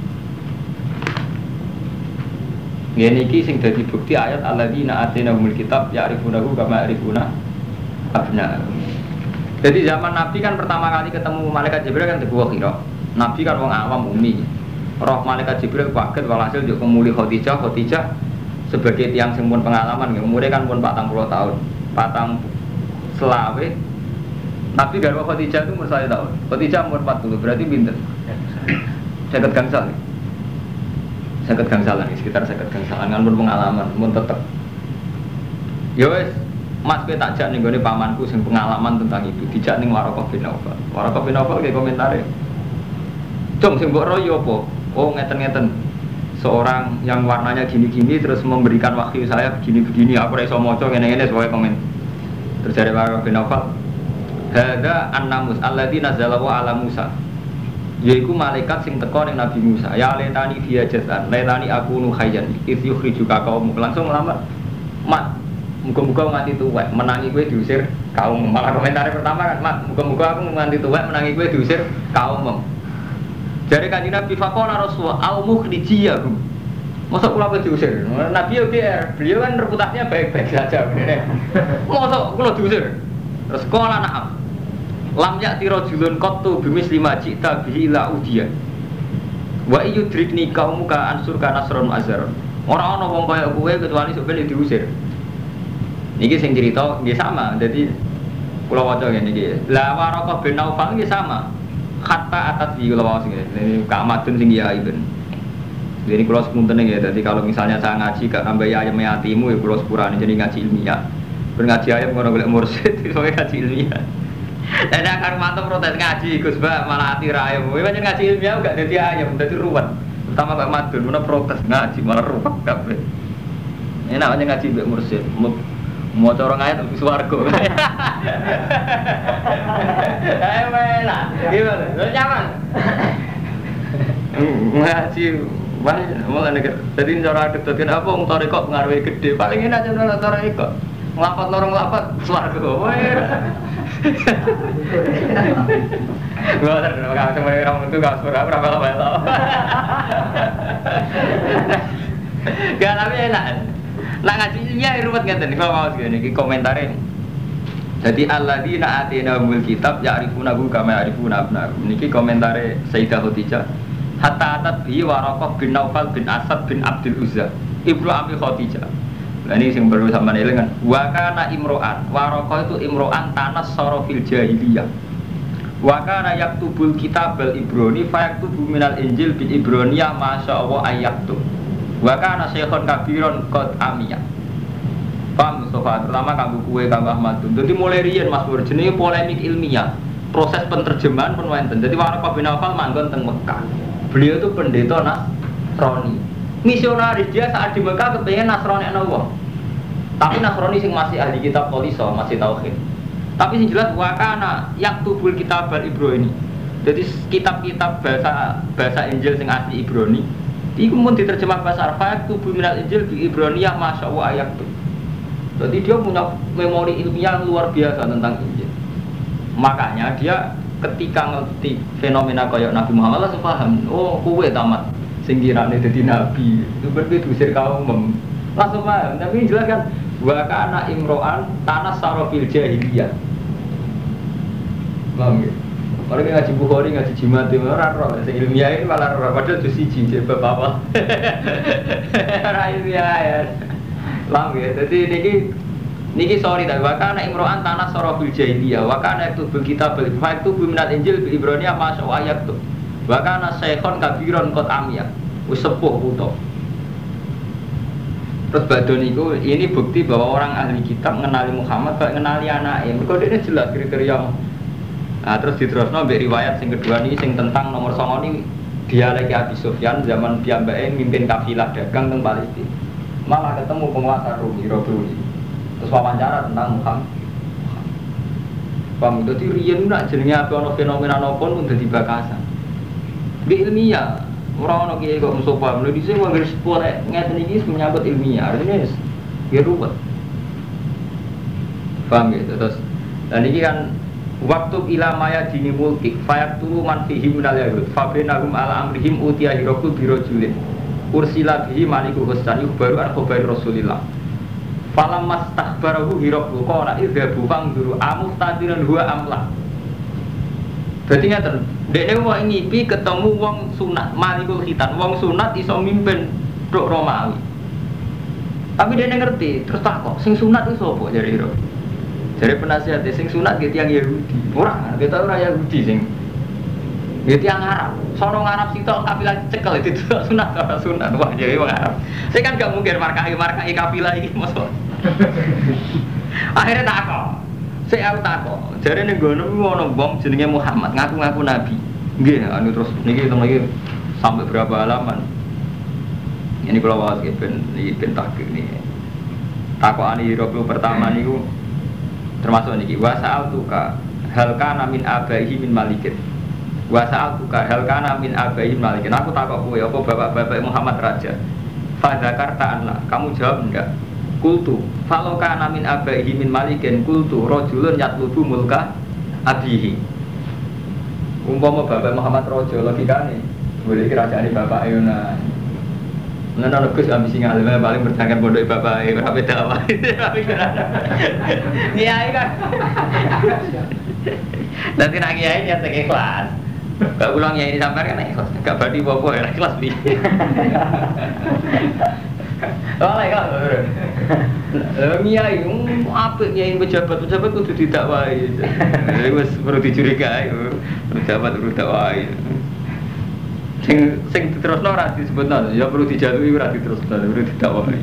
Ini niki sing dadi bukti ayat alladzina atinahumul kitab ya'rifunahu kama ya'rifuna abna'ahum. Jadi zaman Nabi kan pertama kali ketemu malaikat Jibril kan sebuah kira. Nabi kan wong awam umi. Roh malaikat Jibril kaget walhasil njuk kemuli Khadijah, Khadijah sebagai tiang sing pun pengalaman, umurnya kan pun patang puluh tahun. Patang selawe Nabi garwa Khadijah itu umur saya tahun. Khadijah umur empat puluh, berarti pinter. Catat gangsal. Seket gangsalan, sekitar seket gangsalan kan pun pengalaman, pun tetep. Ya wes, Mas kowe tak jak ning gone pamanku sing pengalaman tentang itu, dijak ning Waraqah bin Nawfal. Waraqah bin Nawfal ge komentare. Cung sing mbok royo apa? Oh ngeten-ngeten. Seorang yang warnanya gini-gini terus memberikan wahyu saya begini-begini, aku ora iso maca ngene-ngene sebagai komen. Terus dari Waraqah bin Nawfal, "Hadza an-namus alladzi nazalahu ala Musa." Yaiku malaikat sing teko ning Nabi Musa. Ya letani dia jazan, letani aku nu khayyan. Itu yukhrijuka kaum. Langsung lama. Mat, muga-muga nganti tuwek menangi kowe diusir kaum. Malah komentar pertama kan, Mat, muga-muga aku nganti tuwek menangi kowe diusir kaum. Jare Kanjeng Nabi faqala Rasulullah au mukhrijiyahum. Mosok kula kowe diusir. Nabi yo G R, beliau kan reputasinya baik-baik saja bener. Mosok kula diusir. Terus kala na'am. Lam ya'ti rajulun qattu bimis lima jita bihi ila udiya. Wa yudrikni qaumuka ansur kana nasron azar. Ora ana wong kaya kowe kecuali sok ben diusir. Niki sing cerita nggih sama. Dadi kula waca ngene iki. La Waraqah bin Nawfal nggih sama. Hatta atat bi kula waca ngene. Ini Kak Madun sing ya ibn. Jadi kula sepunten ya. Dadi kalau misalnya saya ngaji gak nambah ayam yatimu ya kula sepurane jadi ngaji ilmiah. Ben ngaji ayam ngono golek mursyid iso ngaji ilmiah. Dan akar mantap protes ngaji, Gus Ba malah hati rayam. Kowe pancen ngaji ilmiah gak dadi ayam, dadi ruwet. Pertama Pak Madun mana protes ngaji malah ruwet kabeh. Enak aja ngaji mbek mursyid. Mau corong ayat tapi swarga. Ayo lah. Gimana? Lu nyaman? Ngaji banyak malah nek dadi cara kedadean apa wong tarekok ngaruhi gede. Paling enak cara tarekok. Nglapat lorong nglapat swarga. Gua ada orang cuma orang itu gak suka berapa lama itu. Gak tapi enak. Nah ngaji ilmiah ruwet ngeten nih mau segini ki komentare. Jadi alladzina atinahumul kitab ya'rifunahu kama ya'rifuna abnahum. Niki komentare Sayyidah Khadijah. Hatta atat bi Waraqah bin Nawfal bin Asad bin Abdul Uzza. Ibnu Abi Khadijah. Nah ini yang baru sama nilai kan. Wakana imro'an, Waraqah itu imro'an tanas sorofil jahiliyah. Wakana yaktubul kitabal ibroni, fayaktubu minal injil bil ibroniyah masya Allah ayaktub. Wakana syekhon kabiron kod amiyah. Paham Mustafa, terutama kamu kue kamu Ahmad. Jadi mulai rian Mas Bur, jenis polemik ilmiah, proses penerjemahan pun wonten. Jadi Waraqah bin Nawfal manggon teng Mekah. Beliau itu pendeta Nasrani. Misionaris dia saat di Mekah kepengen Nasrani ana wong. Tapi Nasrani sing masih ahli kitab Qoliso, masih tauhid. Tapi sing jelas wakana yaktubul kitabal Ibrani. Jadi kitab-kitab bahasa bahasa Injil sing asli Ibrani iku mun diterjemah bahasa Arab yaktubu minal Injil bi Ibroniyah masyaallah ayaktub. Jadi dia punya memori ilmiah yang luar biasa tentang Injil. Makanya dia ketika ngerti fenomena kayak Nabi Muhammad langsung paham. Oh, kowe tamat sing kirane dadi nabi itu berarti diusir kaum langsung paham. Tapi jelas kan wa kana imro'an tanas sarofil jahiliyah. Paham ya? Kalau ngaji Bukhari, ngaji jimat itu orang roh, ilmiah ini malah roh, padahal itu siji jadi apa? Orang ilmiah ya. Paham ya? Jadi niki niki sorry tapi wa kana imro'an tanas sarofil jahiliyah. Wa kana itu kitab itu biminat Injil bi Ibroniyah masya ayat tuh. Bahkan syekhon kabiron kot amiyah, sepuh puto. Terus badon itu ini bukti bahwa orang ahli kitab mengenali Muhammad, gak mengenali anaknya. Mereka ini jelas kriteria. Nah, terus diterusno mbek riwayat sing kedua ini sing tentang nomor songo ini dia lagi Abi Sufyan zaman piyambake mimpin kafilah dagang teng Palestina. Malah ketemu penguasa Romi, Romi. Terus wawancara tentang Muhammad. Paham, dadi riyen nak jenenge apa ana fenomena napa pun dadi bakasan. Di ilmiah, orang-orang kiai kok Mustafa, mulai disini mau garis sekolah ngeten ini menyangkut ilmiah, artinya ya ruwet. Paham gitu, terus dan ini kan waktu ilamaya dini mulkik, fayak turu man fihim minal yahud, fabrenahum ala amrihim utia hirokul birojulin, ursila bihi maliku hustan baru an khobari rasulillah. Falam mas takbarahu hirokul kona idhabu fangduru amustadiran huwa amlah. Berarti ngeten, dekne wong ngipi ketemu wong sunat, malikul khitan, wong sunat iso mimpin tok Romawi. Tapi dekne ngerti, terus takok, sing sunat itu sapa jare ira? Jare penasihat sing sunat ge tiyang Yahudi. Ora, kita ora Yahudi sing. Ya tiang Arab, sono Arab sitok kafilah cekel itu sunat ora sunat. Wah, jadi wong Arab. Saya kan gak mungkin markai-markai kafilah iki mosok. Akhirnya takok. Saya aku takok. Jare ning ngono kuwi ono wong jenenge Muhammad ngaku-ngaku nabi. Nggih, anu terus niki teng lagi sampai berapa halaman. Ini kalau wawas ben iki ben takik niki. Takokane Hiratul pertama niku termasuk niki wasal tuka hal kana min abaihi min malikin. Wasal tuka hal kana min abaihi min malikin. Aku takok kowe apa bapak-bapak Muhammad raja. Fa zakarta anla, kamu jawab enggak? Kultu, falau kana min abaihi min malikin kultu rajulun yatlubu mulka abihi. Umpama bapak Muhammad raja logikane, boleh kerajaane bapak Ayuna. Nana Gus ambisi ngalim paling bertangkan pondok bapak e ora beda wae. Iya kan. Nanti nak kiai nyata ikhlas. Gak ulang kiai sampean kan ikhlas. Gak badi apa-apa ya ikhlas bi. Oh ikhlas. Lah kiai apik kiai pejabat-pejabat kudu didakwai. Wis perlu dicurigai pejabat perlu dakwai. Sing sing diterusno ora disebutno ya perlu dijalui ora diterusno perlu didakwai.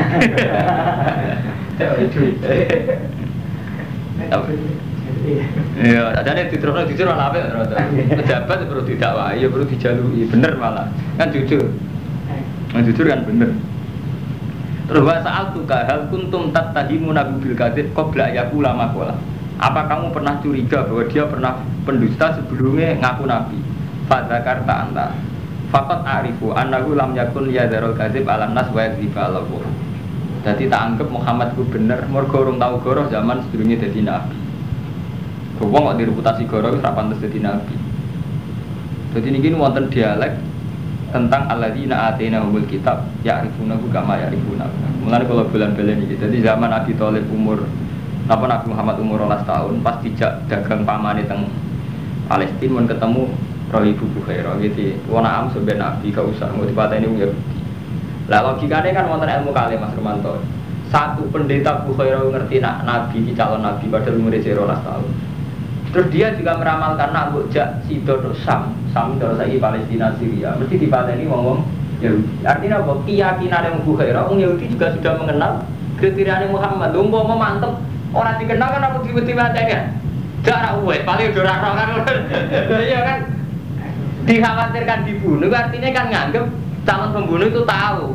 Ya, adane diterusno jujur ora apik ora. Pejabat perlu didakwai ya perlu dijalui bener malah. Kan jujur. Nah, jujur kan bener. Terus wa sa'altuka hal kuntum tattahimuna bil kadzib qabla yaqula maqala. Apa kamu pernah curiga bahwa dia pernah pendusta sebelumnya ngaku nabi? Fa zakarta anta faqat arifu annahu lam yakun yadharul kadzib alam nas wa yakdziba Allah. Dadi tak anggap Muhammad ku bener mergo urung tau goroh zaman sebelumnya dadi nabi. Wong kok direputasi goroh wis ra pantes dadi nabi. Dadi niki wonten dialek tentang alladzina atainahumul kitab ya'rifunahu kama ya'rifuna. Mulane kula bulan-bulan iki. Dadi zaman Abi Thalib umur napa Nabi Muhammad umur dua belas tahun pas dijak dagang pamane teng Palestina mun ketemu Rohibu Bukhairah gitu. Wana am sebenarnya nabi gak usah mau dipateni wong Yahudi. Lah logikane kan wonten ilmu kali Mas Romanto. Satu pendeta Bukhairah ngerti nak nabi iki calon nabi padahal umure dua belas tahun. Terus dia juga meramalkan nak mbok jak sida tok Sam, Sam terus saiki Palestina Syria, mesti dipateni wong-wong Yahudi. Artinya apa? Keyakinane wong Bukhairah wong Yahudi juga sudah mengenal kriteriane Muhammad. Lho umpama mantep ora dikenal kan aku diweti-weteni. Jarak uwe paling ora ora kan. Iya kan? Dikhawatirkan dibunuh artinya kan nganggep calon pembunuh itu tahu.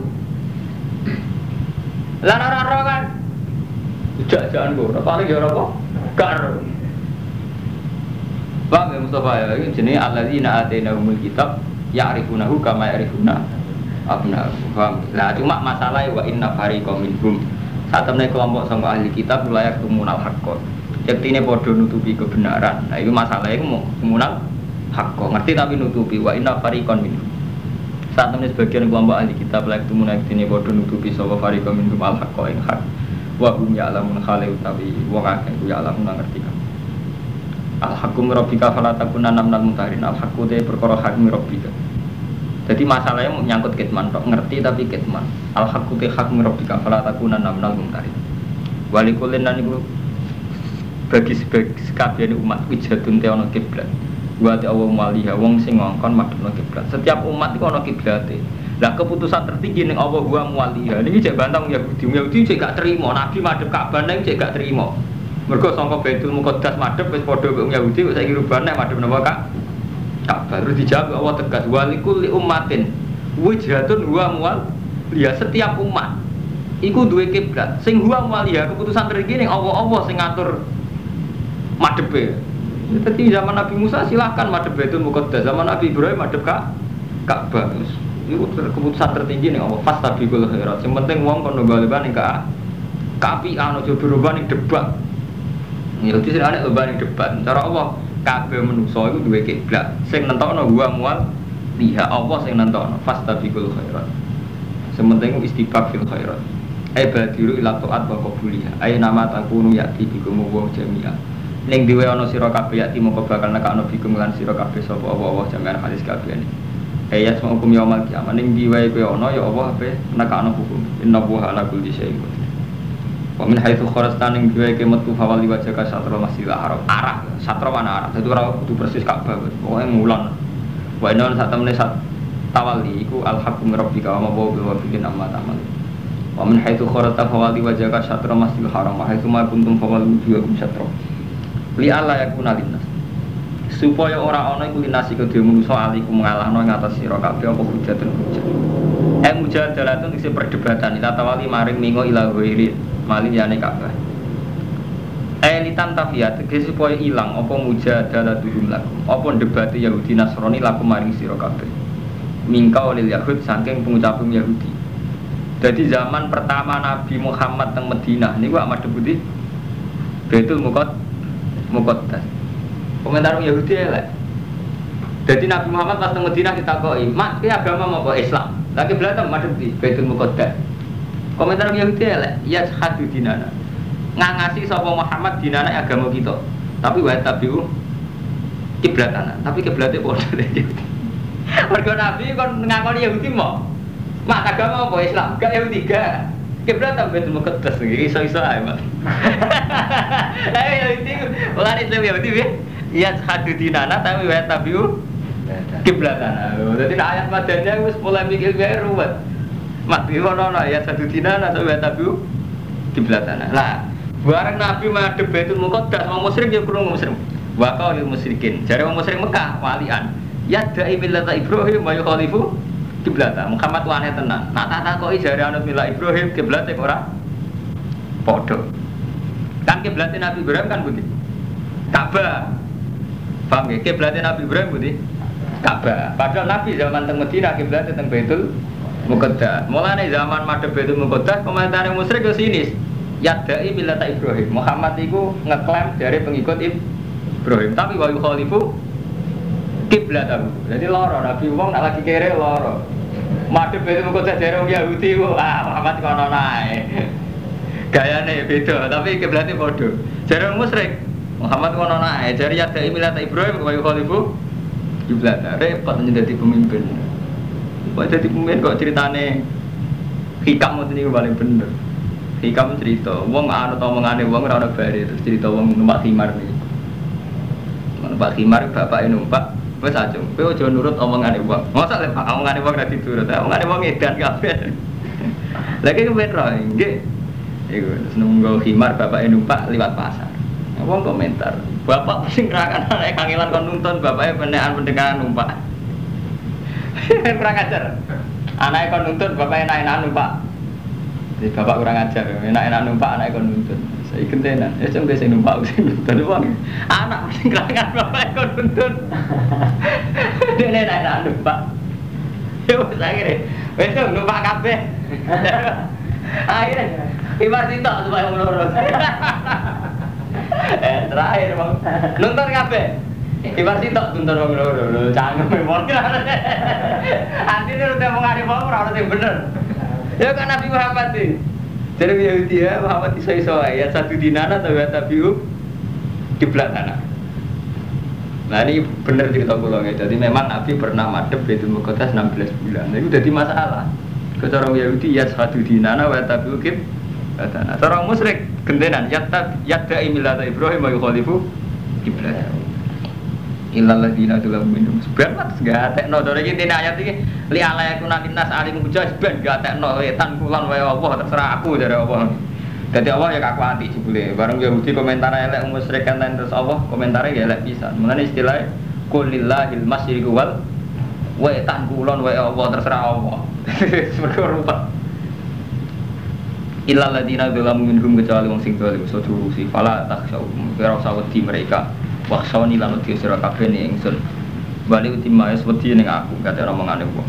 Lah ora-ora kan jak-jakan kok paling ya ora apa? Gak ero. Paham ya Mustafa ya, ini jenenge alladzina atainahumul kitab ya'rifunahu kama ya'rifuna abna'ahum. Paham? Lah cuma masalahnya wa inna fariqam minhum. Saat temen kelompok sangka ahli kitab layak tumunal haqqo. Yektine padha nutupi kebenaran. Nah itu masalahnya mau tumunal hakko ngerti tapi nutupi wa inna fariqan minhum. Saat temen sebagian kelompok ahli kitab layak tumuna yektine padha nutupi sapa fariqan minhum al haqqo ing hak. Wa hum ya'lamun khale utawi wong akeh ku ya'lamun ngerti kan. Al haqqu rabbika fala takunanna minal mumtarin. Al haqqu te perkara hak rabbika. Jadi masalahnya menyangkut kitman tok ngerti tapi kitman. Al haqqu te hak rabbika fala takunanna minal mumtarin. Walikulin lan iku bagi sekabian umat wijatun te ana kiblat. Wa ta Allah maliha wong sing ngongkon madhepno kiblat. Setiap umat iku ana kiblate. Lah keputusan tertinggi ning Allah wa maliha. Niki cek bantang Yahudi. Yahudi cek gak terima Nabi madhep Ka'bah ning cek gak terima. Mergo sangka Baitul Muqaddas madhep wis padha karo Yahudi kok saiki rubah nek madhep napa Kak? Ka'bah. Terus dijawab Allah tegas walikul li ummatin wijhatun wa muwal. Ya setiap umat iku duwe kiblat. Sing huwa muwaliha keputusan tertinggi ning Allah-Allah sing ngatur madhepe. Jadi zaman Nabi Musa silahkan madhep Baitul Muqaddas, zaman Nabi Ibrahim madhep Kak Ka'bah. Itu keputusan tertinggi nih Allah fastabiqul khairat. Yang penting wong kono bali-bali ning ka kapian aja berubah ning debat. Ya iki sing ana lomba ning debat. Cara Allah kabeh manusa iku duwe kiblat. Sing nentokno wa mual liha Allah sing nentokno fastabiqul khairat. Sing penting istibaq fil khairat. Ai badiru ila taat wa qabuliha. Ai nama takunu yati bikum wa jami'a. Ning dhewe ana sira kabeh yati moko bakal nekakno bikum lan sira kabeh sapa Allah jami'an hadis kabeh. Ayat semua hukum yaumul kiamat ning diwae kowe ana ya Allah ape nekakno hukum. Inna wa ala kulli syai'in qadir. Wa min haitsu kharajta ning diwae ke metu fawal liwajaka satral masjidil haram. Arah, satra mana arah. Dadi ora kudu persis Ka'bah. Pokoke mulan. Wa inna sak temene sak tawali iku al-haqqu min rabbika wa ma huwa bil wafiqin amma ta'mal. Wa min haitsu kharata fawali wajhaka syatra masjidil haram wa haitsu ma kuntum fawallu wujuhakum syatra. Li alla yakuna linnas. Supaya ora ana iku linasi kedhe manusa alikum ngalahno ing atas sira kabeh apa hujatun hujat. Eh mujadalatun isi perdebatan ila tawali maring mingo ila ghairi malin yane kabeh. Eh litan tafiyat tegese supaya ilang apa mujadalatuhum lakum. Apa debate Yahudi Nasrani lakum maring sira kabeh. Mingkau lil Yahud saking pengucaping Yahudi. Jadi zaman pertama Nabi Muhammad teng Madinah niku amat debuti Baitul Muqaddas. Komentar Yahudi elek. Jadi Nabi Muhammad pas teng Madinah ditakoki, "Mak, ki agama apa Islam?" Lagi belatem madhep di Baitul Muqaddas. Komentar Yahudi elek, "Ya hadu dinana." Ngangasi sapa Muhammad dinana agama kita. Tapi wa tabiu kiblatana, tapi kiblate padha iki. Mergo Nabi kon ngakoni Yahudi mau. Mak agama apa Islam? Gak Yahudi gak. Kiblat ta Baitul Muqaddas iki iso-iso ae, Mak. Ayo Yahudi, ora Islam Yahudi piye? Ya hadu dinana tapi wa tabiu kiblatana. Dadi ayat madannya wis mulai mikir wae ruwet. Mak iki ono ya hadu dinana tapi wa tabiu kiblatana. Lah, bareng Nabi madhep Baitul Muqaddas, wong musyrik ya krungu musyrik. Wa qaulil musyrikin. Jare wong musyrik Mekah walian. Ya da'i millata Ibrahim wa yukhalifu kiblata. Muhammad wane tenan. Nak tak takoki jare anut mila Ibrahim kiblate ora padha. Kan kiblate Nabi Ibrahim kan pundi? Ka'bah. Paham nggih? Kiblate Nabi Ibrahim pundi? Ka'bah. Padahal Nabi zaman teng Madinah kiblate teng Baitul Muqaddas. Mulane zaman madhep Baitul Muqaddas komentare musyrik yo sinis. Ya da'i millata Ibrahim. Muhammad iku ngeklaim dari pengikut Ibrahim, tapi wa yukhalifu kiblat aku. Jadi loro Nabi wong nak lagi kere loro. Madhep itu kok jare wong Yahudi kok ah Muhammad kono nae. Gayane beda tapi kiblate padha. Jare wong musyrik Muhammad kono nae. Jare ya dai milat Ibrahim kok khalifu kiblat. Repot dadi pemimpin. Kok dadi pemimpin kok ceritane hikam ngoten niku paling bener. Hikam cerita wong anut omongane wong ora ono bare terus cerita wong numpak khimar niku. Numpak khimar bapake numpak wes aja, kowe aja nurut omongane wong. Mosok lek omongane wong ora diturut, omongane wong edan kabeh. Lagi kepen ro, nggih. Iku nunggu khimar bapake numpak liwat pasar. Wong komentar, "Bapak sing ngerakan anake kangelan kon nuntun bapake penekan pendengaran numpak." Kurang ajar. Anake kon nuntun bapake enak-enak numpak. Jadi bapak kurang ajar, enak-enak numpak anake kon nuntun. Saya kentenan, ya cuma saya numpak sing nuntun wong. Anak sing kelangan bapak kon nuntun. Dene enak numpak. Ya wis akhire. Wis numpak kabeh. Akhire ibar sitok supaya wong loro. Eh terakhir wong nuntun kabeh. Ibar sitok nuntun wong loro. Cangkem wong. Antine udah mengari wong ora ono sing bener. Ya kan Nabi Muhammad iki. Jadi Yahudi ya Muhammad iso-iso ya satu dinana atau ya tabiu kiblat anak. Nah ini benar cerita kula ya. Jadi memang Nabi pernah madhep Baitul Muqaddas enam belas bulan. Nah, itu jadi masalah. Cara Yahudi ya satu dinana wa tabiu kiblat anak. Cara musyrik gentenan ya tab yadai millata Ibrahim wa yukhalifu kiblat. Illal ladina dalam minum sebenarnya gak tekno dari iki dene ayat iki li ala yakuna linnas alim hujah ben gak tekno wetan kulon wae Allah terserah aku dari Allah. Dadi Allah ya kakuati jebule. Bareng Yahudi komentar elek musyrik kan terus Allah komentare ya elek pisan. Mulane istilah qul lillahil masyriqu wal wetan kulon wae Allah terserah Allah. Mergo rupa. Illal ladina dalam minhum kecuali wong sing dolim soduru si fala takhsyau ora usah wedi mereka. Waksoni lan wedi sira kabeh ning ingsun. Bali utima wis wedi ning aku kate omongane wong.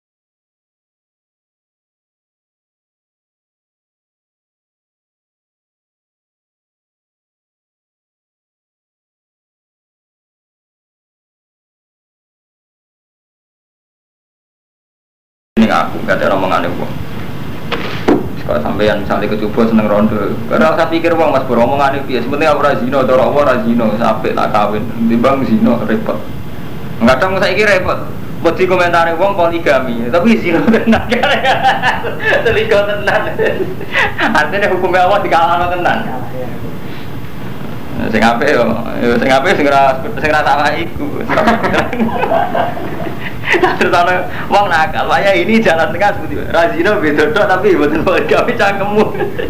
Ning aku kate omongane wong. Kalau sampeyan misalnya kecoba seneng rondo, karena saya pikir wong mas bro omongane piye, sebenarnya aku ra zina, cara apa ra zina, sampai tak kawin, timbang zina repot. Kadang saiki repot, buat di komentare wong poligami, tapi zina tenan kan. Selingkuh tenan. Artinya hukumnya Allah dikalahno tenan. Sing apik yo, sing apik sing ora sing ora salah iku. Terus ana wong nakal, "Waya ini jalan tengah seperti Razino bedodok tapi mboten gawe cangkemmu."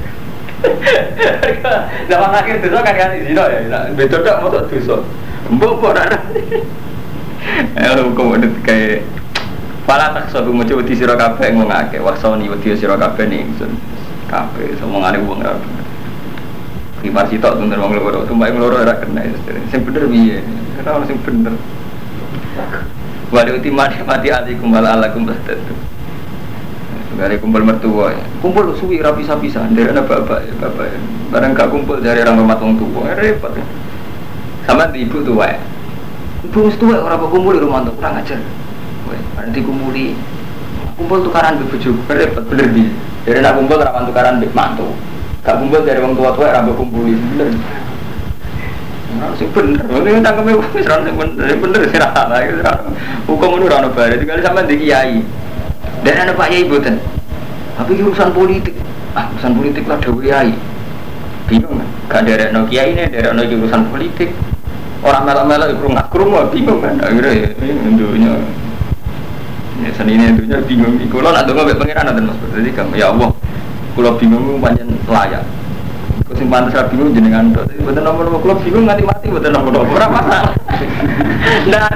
Zaman akhir dosa kan kan zina ya. Bedodok motok dosa. Mbok ora. Eh hukum udah kayak pala tak suatu macam wedi sira kabeh ngomongake wasoni wedi sira kabeh ning ingsun. Kabeh omongane wong ora. Kibar sitok tunder wong loro, tumbake loro ora kena. Sing bener piye? Ora ono sing bener. Wali utimati mati alikum wal alakum bastatu. Dari kumpul mertua, kumpul suwi rapi pisah dari anak bapak, bapak. Barang gak kumpul dari orang rumah tua tua, repot. Sama di ibu tua, ibu tua orang kumpul di rumah tua kurang ajar. Nanti kumpuli, kumpul tukaran bebujuk, repot bener di. Dari anak kumpul rawan tukaran bek mantu, gak kumpul dari orang tua tua orang kumpuli bener. Sing bener, ini tangkeme wis ra sing bener, bener sing ra ana. Hukum itu ora ono bare, tinggal sampean di kiai. Dan anak Pak Yai boten. Tapi urusan politik, ah urusan politik lah dewe Yai. Bingung kan? Gak derekno kiai ini, derekno urusan politik. Orang melak-melak iku ngak-krungu bingung kan. Akhirnya dunya. Ya senine dunya bingung. Kula nak ndonga mek pangeran nanten Mas. Jadi kamu ya Allah. Kula bingung pancen layak. Kok sing pantes ra bingung jenengan tok. Boten nomor-nomor kula bingung nganti mati boten nomor-nomor. Ora masalah. Nah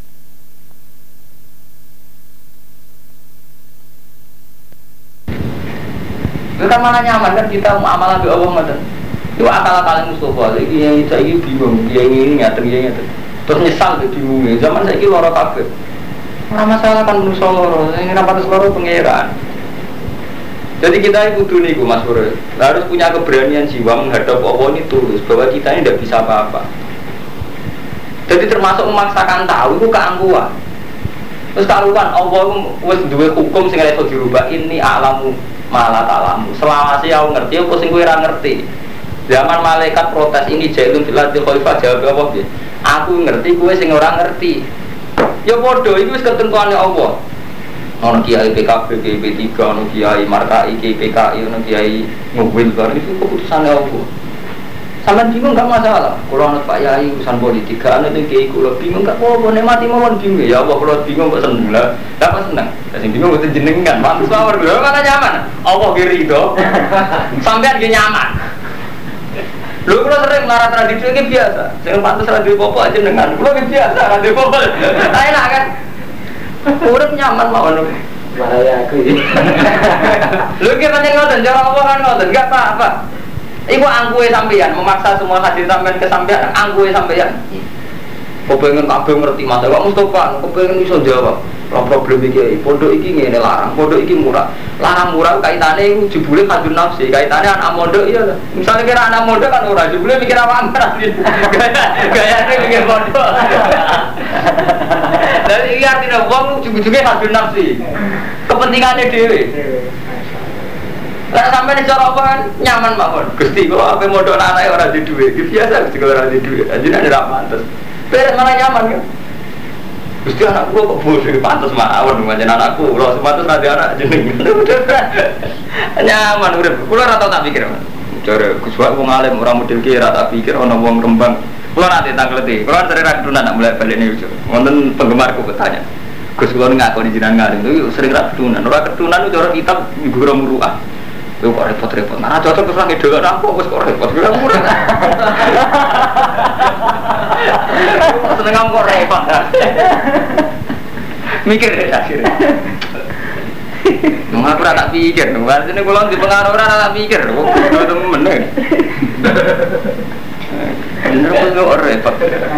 itu kan malah nyaman kan kita muamalah dengan Allah macam itu akal-akalan Mustafa lagi yang saya ini bingung dia ini ngatur dia ngatur terus nyesal tuh bingungnya zaman saya ini loro kabeh ora masalah kan manusia loro ini rapatus loro pangeran jadi kita itu kudu niku Mas Bro harus punya keberanian jiwa menghadap Allah ini tulus bahwa kita ini tidak bisa apa-apa jadi termasuk memaksakan tahu itu keangkuhan terus karuan Allah wis duwe hukum sing iso dirubah ini alamu malah talamu selawase aku ngerti apa sing kowe ora ngerti zaman malaikat protes ini jailun filati khalifah jawab apa piye aku ngerti kowe sing ora ngerti ya padha iku wis ketentuane Allah ono kiai P K B P tiga ono kiai Markai P K I ono kiai mobil bar itu keputusane Allah sampean bingung gak masalah kalau anak Pak Yai urusan politik gak ada kiai kula bingung gak apa-apa nek mati mawon bingung ya Allah kula bingung kok seneng lah gak apa seneng sing bingung mboten jenengan mantus mawon lho mana nyaman Allah ki rido sampean ki nyaman lho kula sering marah tradisi iki biasa sing pantes ra duwe apa aja jenengan kula ki biasa ra duwe apa enak kan urip nyaman mawon bahaya aku iki lho ki pancen ngoten cara Allah kan ngoten gak apa-apa. Iku angkuhe sampeyan memaksa semua hadir sampeyan ke sampeyan angkuhe sampeyan. Kok pengen kabeh ngerti Mas, kok Mustofa, kok pengen iso jawab. Ora problem iki, pondok iki ngene larang, pondok iki murah. Larang murah kaitane iku jebule kadun nafsi, kaitane anak mondok iya. Misale kira anak mondok kan ora jebule mikir apa-apa. Gayane mikir pondok. Dari iki artine wong ujug-ujuge kadun nafsi. Kepentingane dhewe. Lah sampai nih cara apa kan nyaman mawon. Gusti kok ape modal anake ora di duwe. Iki biasa Gusti ora di duwe. Ajine ora pantes. Beres malah nyaman kan. Gusti anakku kok bodoh pantes mawon pancen anakku. Ora pantes ra di anak jeneng. Nyaman urip. Kula ora tau tak pikir. Jare Gus wae wong alim ora model ki ora tak pikir ana wong Rembang. Kula nanti tangkleti. Kula sering ra kedunan nak mulai balik niku. Wonten penggemarku bertanya. Gus kula ngakoni jenengan ngalim itu sering ra kedunan. Ora kedunan itu cara kitab guru muruah. Itu kok repot-repot, nah cocok terus lagi dulu aku, kok repot, bilang murah seneng kamu kok repot mikir deh akhirnya nggak aku tak pikir, nggak sini kalau di pengaruh orang tak pikir, kok itu temen bener kok repot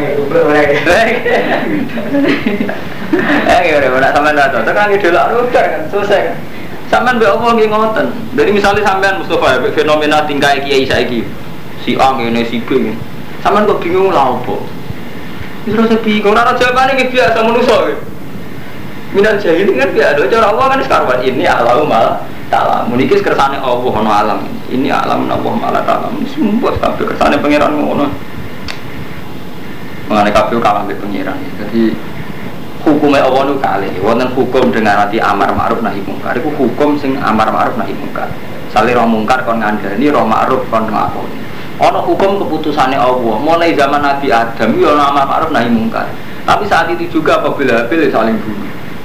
eh gimana, nak sampai tak cocok, lagi dulu aku udah kan, selesai kan sampean mbek apa nggih ngoten. Jadi misalnya sampean Mustofa ya fenomena tingkah kiai saiki. Si A ngene si B. Sampean kok bingung lha opo? Wis rasa bingung ora jawabane nggih biasa manusa. Minal jahil kan biasa cara Allah kan sekarwan ini alam malah ta'lam. Muniki kersane Allah ono alam. Ini alam Allah malah ta'lam. Sumpah kabeh kersane pangeran ngono. Mangane kabeh kalah mbek pangeran. Jadi hukumnya Allah itu kali, wonten hukum dengan hati amar ma'ruf nahi mungkar. Itu hukum sing amar ma'ruf nahi mungkar. Sale roh mungkar kon ngandani, roh ma'ruf kon nglakoni. Ana hukum keputusane Allah. Mulai zaman Nabi Adam yo ana amar ma'ruf nahi mungkar. Tapi saat itu juga apabila Habil saling bunuh.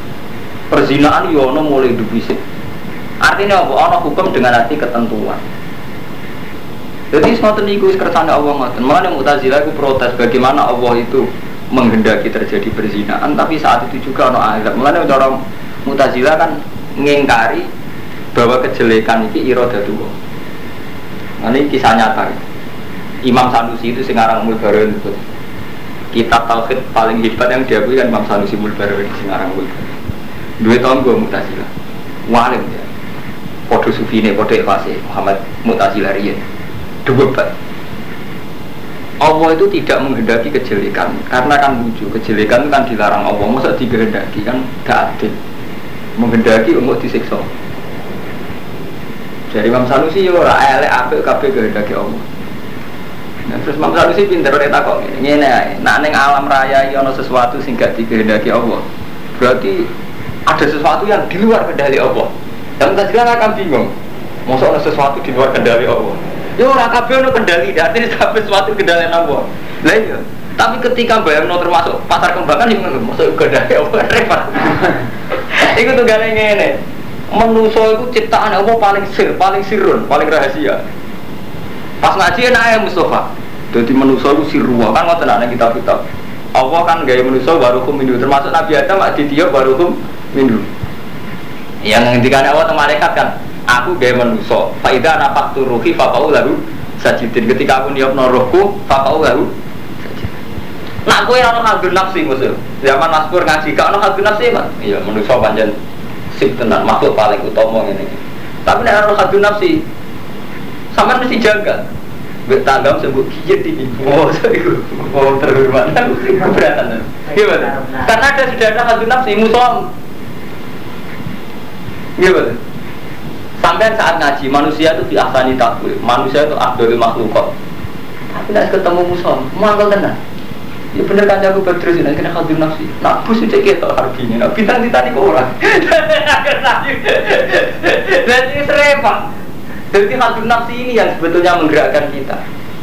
Perzinaan yo ono mulai dibisik. Artinya apa? Ono hukum dengan arti ketentuan. Jadi ngoten niku kersane Allah ngoten. Mulane Mu'tazilah iku protes bagaimana Allah itu menghendaki terjadi perzinaan tapi saat itu juga ono azab. Mulane cara Mu'tazilah kan ngingkari bahwa kejelekan iki iradatullah. Nah, ini kisah nyata. Imam Sanusi itu Singarang Mulbarin itu. Kitab tauhid paling hebat yang diakui kan Imam Sanusi Mulbarin Singarang Mulbarin. Dua tahun gue Mu'tazilah. Walim ya. Podo Sufine, podo Ikhwasi Muhammad Mu'tazilah riyen. Dua bat. Allah itu tidak menghendaki kejelekan karena kan lucu, kejelekan itu kan dilarang Allah, masa digendaki kan gak adil. Menghendaki untuk disiksa. Jadi Imam Sanusi ya ora elek apik kabeh kehendaki Allah. Nah, terus Imam Sanusi pinter ora takok ngene. Ngene ae, nek ning alam raya iki ana sesuatu sing gak dikehendaki Allah. Berarti ada sesuatu yang di luar kendali Allah. Dan kita juga akan bingung. Masa ada sesuatu di luar kendali Allah. Ya ora kabeh ono kendali, artinya kabeh sesuatu kendali Allah. Lah iya. Tapi ketika bayangno termasuk pasar kembangan yang masuk kendali Allah repot. Iku tuh gale ngene. Manusa iku ciptaan Allah paling sir, paling sirun, paling rahasia. Pas ngaji enak ya Mustafa. Dadi manusa iku sirruwa kan ngoten ana kitab-kitab. Allah kan gawe manusa baruhum minhu, termasuk Nabi Adam aditya baruhum minhu. Yang ngendikane Allah teng malaikat kan, aku gawe manusa. Fa idza nafaqtu ruhi fa qau lahu sajidin. Ketika aku niupno rohku, fa qau lahu sajidin. Nak kowe ora ono hadun nafsi musuh. Zaman Mas Pur ngaji gak ono hadun nafsi, Mas. Iya, manusa pancen sip tenan, makhluk paling utama ngene iki. Tapi nek ono hadun nafsi, sampean mesti jaga. Mbek tanggam sebut kiye iki. Oh, iku. Oh, terhormat. Keberatan. Gimana? Karena ada sudah ada hadun nafsi musuh. Gimana? Sampai saat ngaji manusia itu diahsani takwil, manusia itu abdul makhlukot. Tapi nek ketemu musuh, mangkel tenan. Ya bener kan aku berterus ini kena hadun nafsi. Nak bus cek ketok hargine, nak bintang ditani kok ora. Jadi serempet. Jadi hadun nafsi ini yang sebetulnya menggerakkan kita.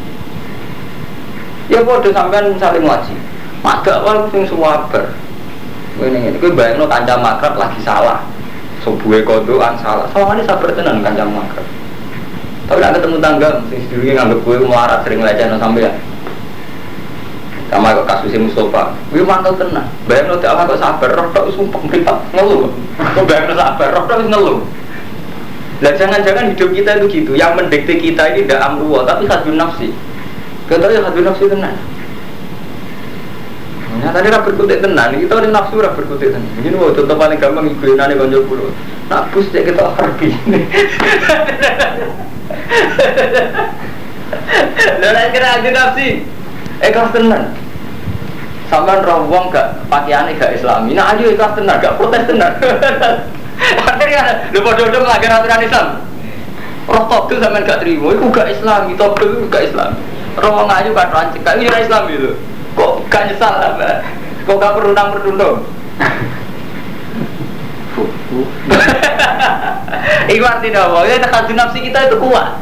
Ya bodoh sampean misalnya ngaji. Mak awal sing suwaber. Ngene ngene, kowe bayangno kanca makrab lagi salah. Subuhe kodokan salah. Sawangane sabar tenan kanca makrab. Tapi nek ketemu tangga sing sedurunge nganggep kowe melarat sering lecehno sampean. Sama kok kasusnya Mustafa, wih mantap tenang. Bayangno tak apa kok sabar, roh tak sumpah meripat ngeluh. Kok bayangno sabar, roh tak ngeluh. Lah jangan-jangan hidup kita itu gitu, yang mendikte kita ini tidak amruwa, tapi hadun nafsi. Kita ya hadun nafsi tenang. Nah tadi ra berkutik tenang, kita ini nafsu ra berkutik tenang. Ini mau contoh paling gampang ibu-inane konco kula. Nak bus cek kita harbi. Lah nek kira hadun nafsi. Ikhlas tenan. Sampeyan roh wong gak pakaiane gak islami. Nah ayo ikhlas tenan, gak protes tenan. Artinya lho padha-padha melanggar aturan Islam. Roh togel sampeyan gak trimo, iku gak islami, togel iku gak islami. Roh wong ayu katran cek, gak ora islami lho. Kok gak nyesal apa? Kok gak perundang-perundung? Iku artinya apa? Ya hadun nafsi kita itu kuat.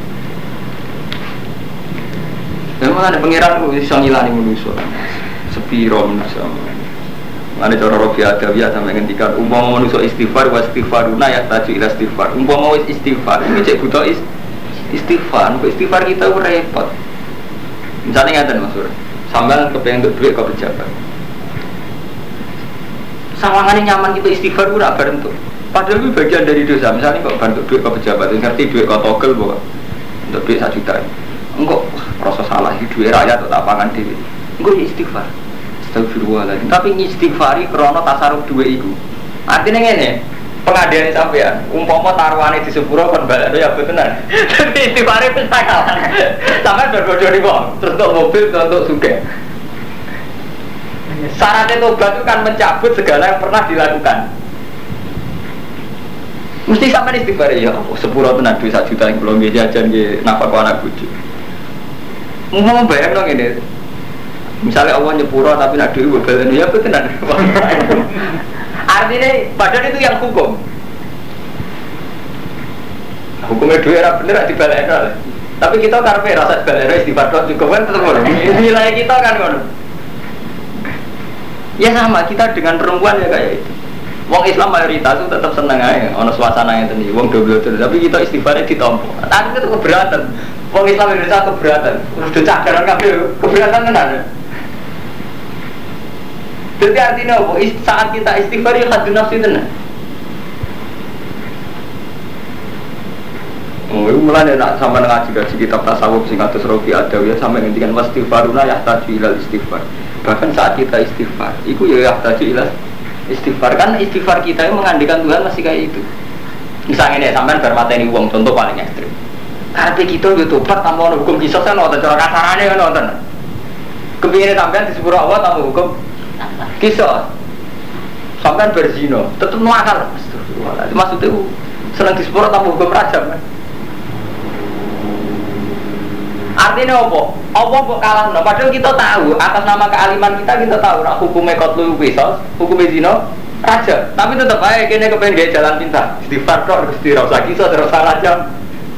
Memang ada pengiran bisa ngilani manusia, sepiro manusia. Ada cara Robi Adawiyah sampai ngendikan umpama manusia istighfar wa istighfaruna ya taju ila istighfar. Umpama wis istighfar, ini cek butuh istighfar. Istighfar kita repot. Misalnya ngaten Mas Sur, sampean kepengen untuk duit ke pejabat. Sawangane nyaman kita istighfar ora bareng tuh. Padahal itu bagian dari dosa. Misalnya kok bantu duit ke pejabat, ngerti duit ke togel bahwa untuk duit satu juta. Enggak rasa salah hidup rakyat atau tapangan dewi. Enggak istighfar. Astagfirullahaladzim. Tapi istighfari krono tasarruf dua iku. Artinya ngene, pengadilan sampean, umpama taruhane di sepuro kon balane ya betenan. Tapi istighfari pesakalan. Sampai berbodoh wong, terus untuk mobil untuk sugih. Syaratnya tobat itu kan mencabut segala yang pernah dilakukan. Mesti sampai istighfar ya, oh, sepuro tenan duit satu juta yang belum jajan nggih nafkah anak bojo. Mau bayang dong ini. Misalnya Allah nyepuro tapi nak duit balen ya betenan. Artinya padahal itu yang hukum. Hukumnya duit era bener dibalen. Tapi kita karpe rasa balen istighfar juga kan tetap ngono. Nilai kita kan ngono. Ya sama kita dengan perempuan ya kayak itu. Wong Islam mayoritas itu tetap seneng aja, ono suasana yang tadi, wong double double. Tapi kita istighfarnya ditompo. Tapi itu keberatan. Wong Islam Indonesia keberatan. Terus udah cakaran kabeh keberatan kan ada. Jadi artinya apa? Saat kita istighfar ya hadun nafsi tenan. Oh, itu mulai nak sama ngaji ngaji kitab tasawuf sing atus Rofi Adawiyah sampai ngendikan wastighfaruna yahtaju ilal istighfar. Bahkan saat kita istighfar, itu ya yahtaju ilal istighfar. Kan istighfar kita yang mengandikan Tuhan masih kayak itu. Misalnya nih sampean bar mateni wong contoh paling ekstrim. Karena kita yo tobat tanpa hukum kisah kan nonton cara kasarane kan nonton. Kepingin sampean disepuro Allah tanpa hukum kisah. Sampean berzina, tetep nuakal. Astagfirullah. Maksudnya seneng disepuro tanpa hukum rajam kan. Artinya apa? Apa kok kalah? No? Padahal kita tahu atas nama kealiman kita kita tahu nak hukumnya kotlu kisos, hukumnya zino raja. Tapi tetap aja kini kepengen gaya jalan pintar. Istighfar kok harus dirasa kisos terus raja.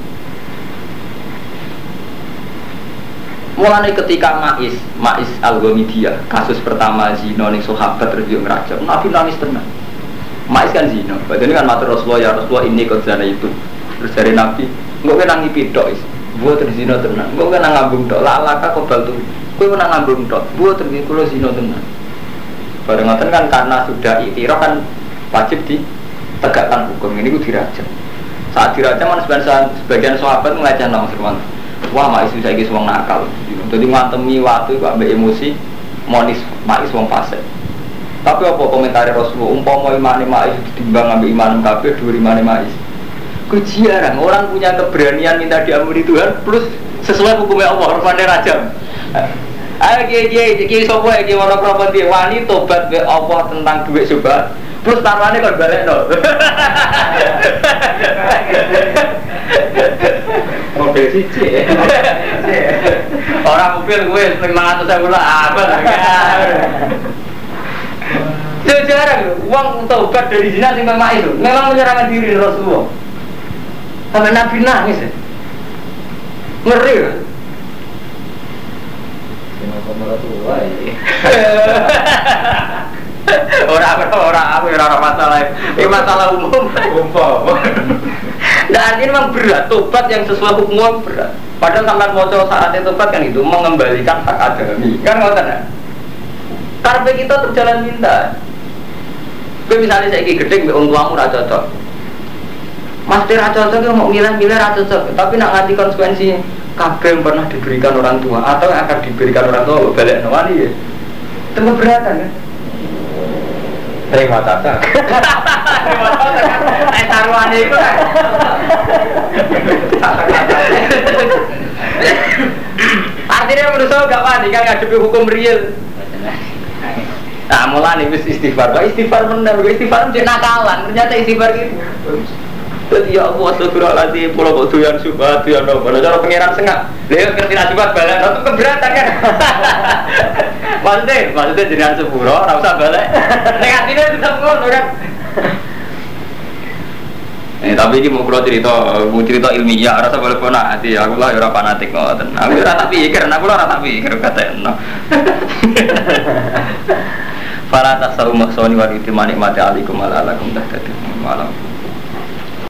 Mulai ketika Ma'is, Ma'is Al-Ghamidiyah kasus pertama zino ning sahabat terus yo ngrajam. Nabi nangis tenang. Ma'is kan zino. Padahal kan matur Rasulullah ya Rasulullah ini kok zina itu. Terus dari Nabi, enggak kena ngipidok is. Buat terzino tenang, gue kena ngambung dok, lalaka kau baltu, gue kena ngambung dok, buat terzino kalau zino tenang. Barengan kan karena sudah ikhtiraf kan wajib ditegakkan hukum ini gue dirajam. Saat dirajam kan sebagian sebagian sahabat ngelajar nama Firman, wah Ma'is bisa gis wong nakal, jadi ngantemi waktu gue ambil emosi, monis Ma'is wong fase. Tapi apa komentar Rasulullah, umpama imane Ma'is ditimbang ambil iman kafir dua imane Ma'is. Jarang orang punya keberanian minta diampuni Tuhan plus sesuai hukumnya Allah rupanya rajam. Ayo kiai kiai kiai sopo ya kiai mana properti wani tobat be Allah tentang duit coba plus taruhannya kan balik no. Mobil cici. Orang mobil gue lima ratus ribu lah apa jarang uang tobat dari zina sih memang itu memang menyerahkan diri Rasulullah. Sampai Nabi nangis ya. Ngeri ya. Orang apa orang apa orang masalah ini masalah umum umum. Nah artinya memang berat tobat yang sesuai hukum berat. Padahal sampai mau saatnya tobat kan itu mengembalikan hak adami kan nggak tahu. Karena kita terjalan minta. Gue misalnya saya gede, orang tuamu raja cocok. Mas Tira cocok mau milih-milih rata cocok, tapi nak ngerti konsekuensinya kabeh yang pernah diberikan orang tua atau yang akan diberikan orang tua balik nawani ya itu keberatan kan? Terima tata terima tata kan? Eh taruhannya itu kan artinya menurut saya gak wani kan ngadepi hukum real. Nah mulai nih istighfar, istighfar bener, istighfar menjadi nakalan, ternyata istighfar gitu. Jadi ya Allah astagfirullahaladzim pulau kok doyan subhat doyan apa nah cara pengiran sengak dia ngerti subhat balik itu keberatan kan maksudnya maksudnya jenengan sepuro gak usah balik negatifnya tetap ngono kan eh tapi ini mau pulau cerita mau cerita ilmiah rasa boleh pernah hati aku lah orang fanatik ngoten aku rasa pikir aku lah rasa pikir kata no para tasawuf maksoni wa itimani mati alikum ala alakum dah malam